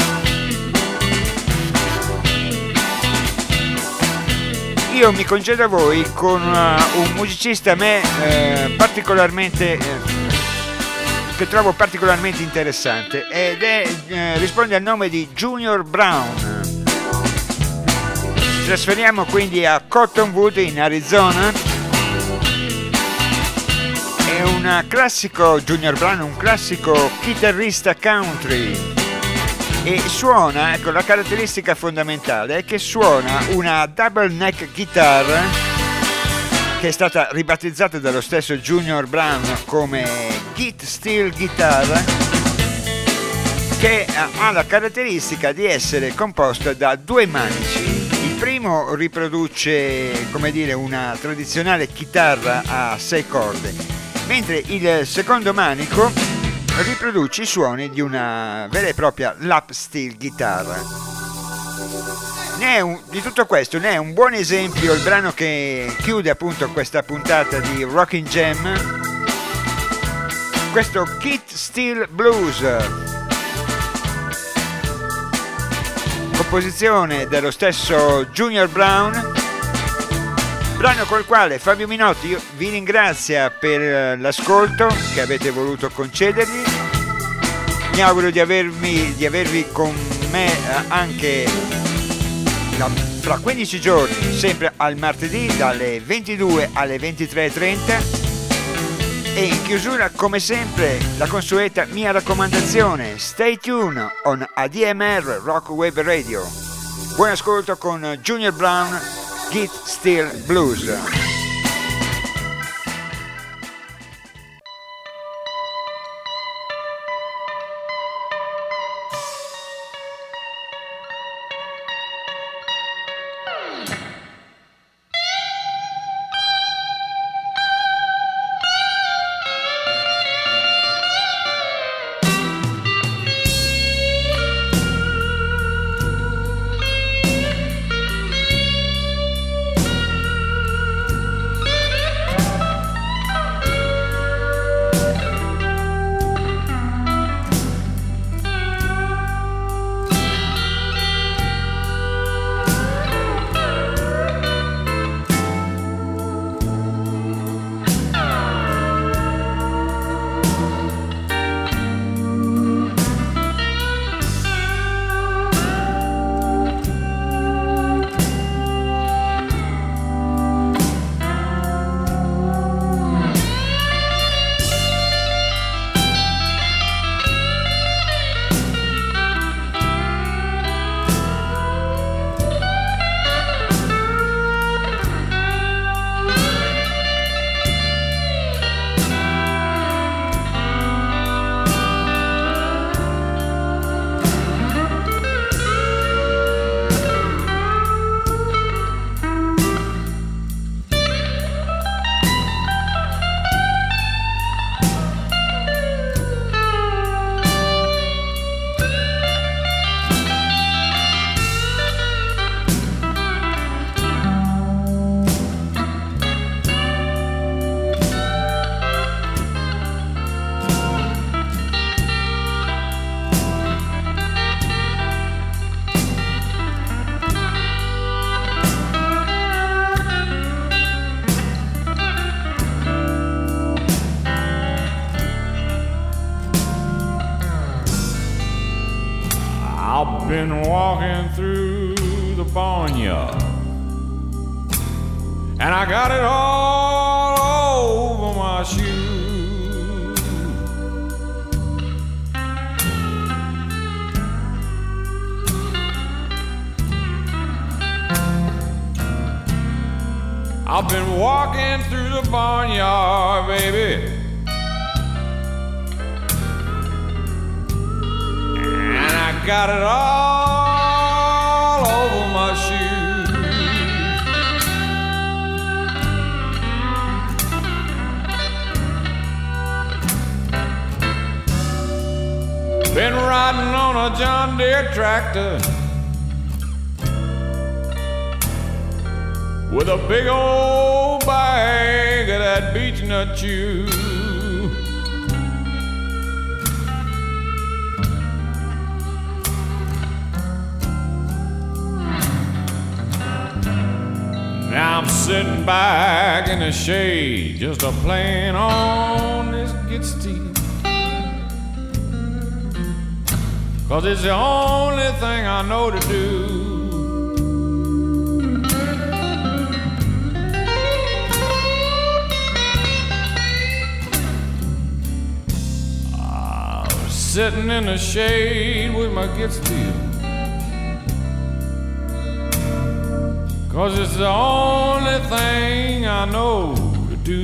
Io mi concedo a voi con uh, un musicista a me eh, particolarmente eh, che trovo particolarmente interessante ed è eh, risponde al nome di Junior Brown. Ci trasferiamo quindi a Cottonwood in Arizona. È un classico Junior Brown, un classico chitarrista country. E suona, ecco, la caratteristica fondamentale è che suona una double neck guitar che è stata ribattezzata dallo stesso Junior Brown come Git Steel Guitar, che ha la caratteristica di essere composta da due manici. Il primo riproduce, come dire, una tradizionale chitarra a sei corde, mentre il secondo manico riproduce i suoni di una vera e propria lap steel guitar. Ne è un, di tutto questo ne è un buon esempio il brano che chiude appunto questa puntata di Rockin' Jam, questo Git Steel Blues, composizione dello stesso Junior Brown, brano col quale Fabio Minotti io vi ringrazia per l'ascolto che avete voluto concedergli. Mi auguro di, avermi, di avervi con me anche la, fra quindici giorni, sempre al martedì dalle ventidue alle ventitré e trenta. E in chiusura, come sempre, la consueta mia raccomandazione: stay tuned on A D M R Rock Web Radio. Buon ascolto con Junior Brown, Git Steel Blues. been walking through the barnyard, and I got it all over my shoes. I've been walking through the barnyard, baby, and I got it all over my shoes. Been riding on a John Deere tractor with a big old bag of that beech nut chew. Now I'm sitting back in the shade, just a playing on this guitar steel, 'cause it's the only thing I know to do. I was sitting in the shade with my guitar steel, 'cause it's the only thing I know to do.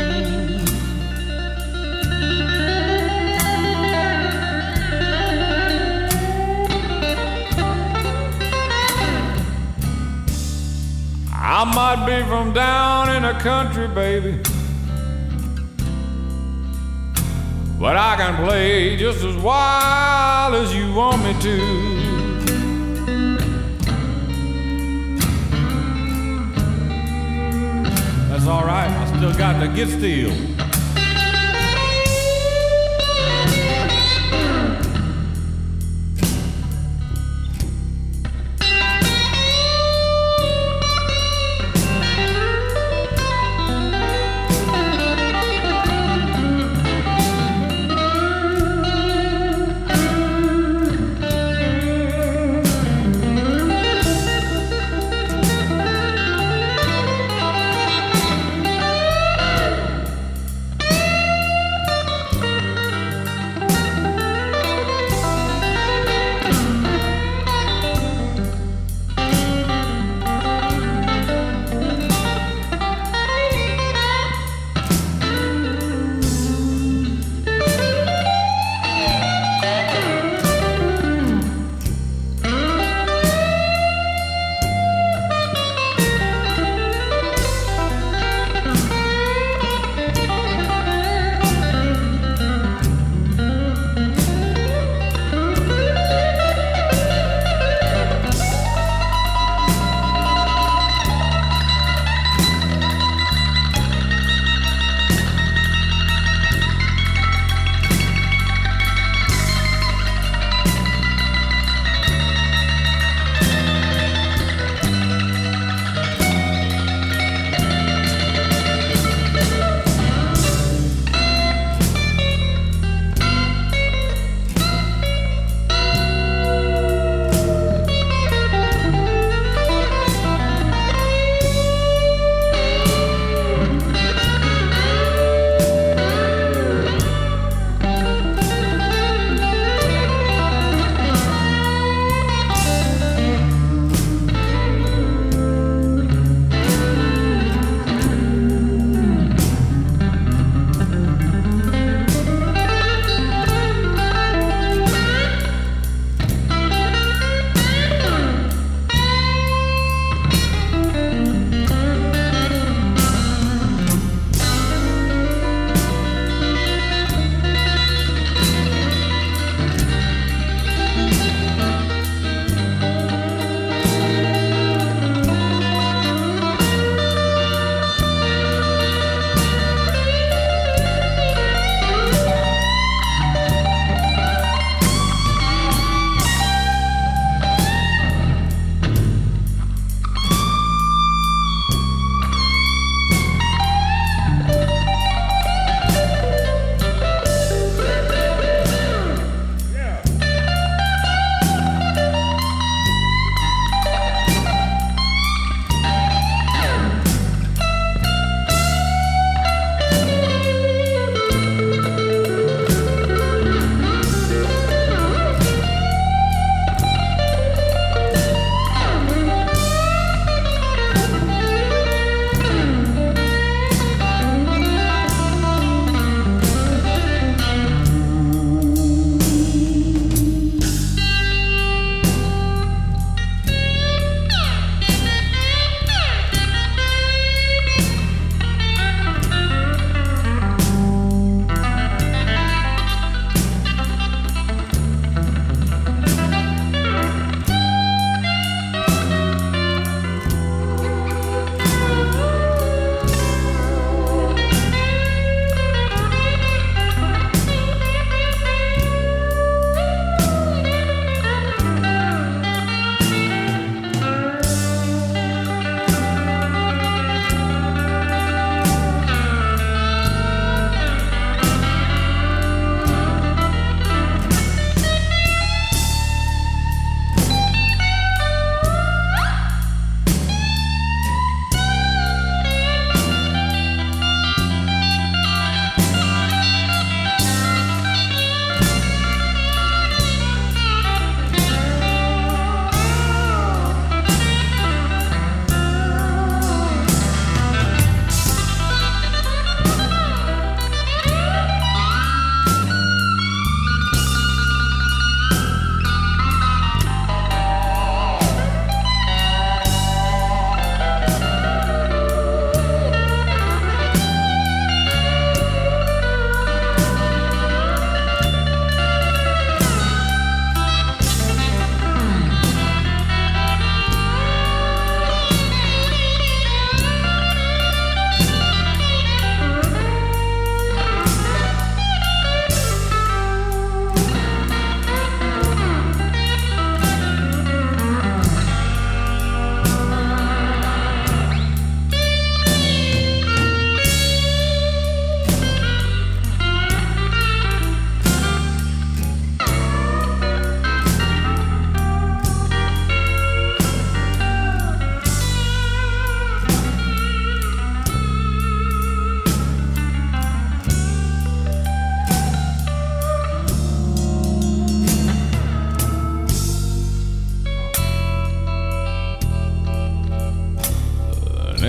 I might be from down in the country, baby, but I can play just as wild as you want me to. That's all right, I still got to get steel.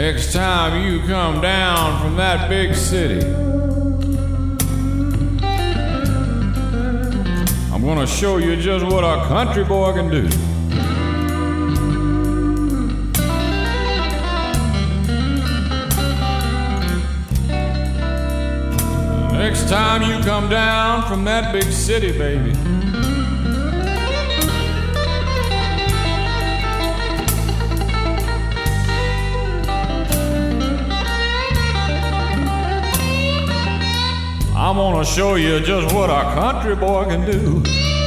Next time you come down from that big city, I'm gonna show you just what a country boy can do. Next time you come down from that big city, baby, I'm gonna show you just what a country boy can do.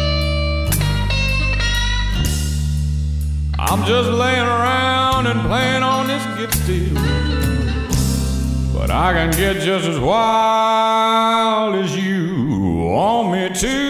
I'm just laying around and playing on this kid steel, but I can get just as wild as you want me to.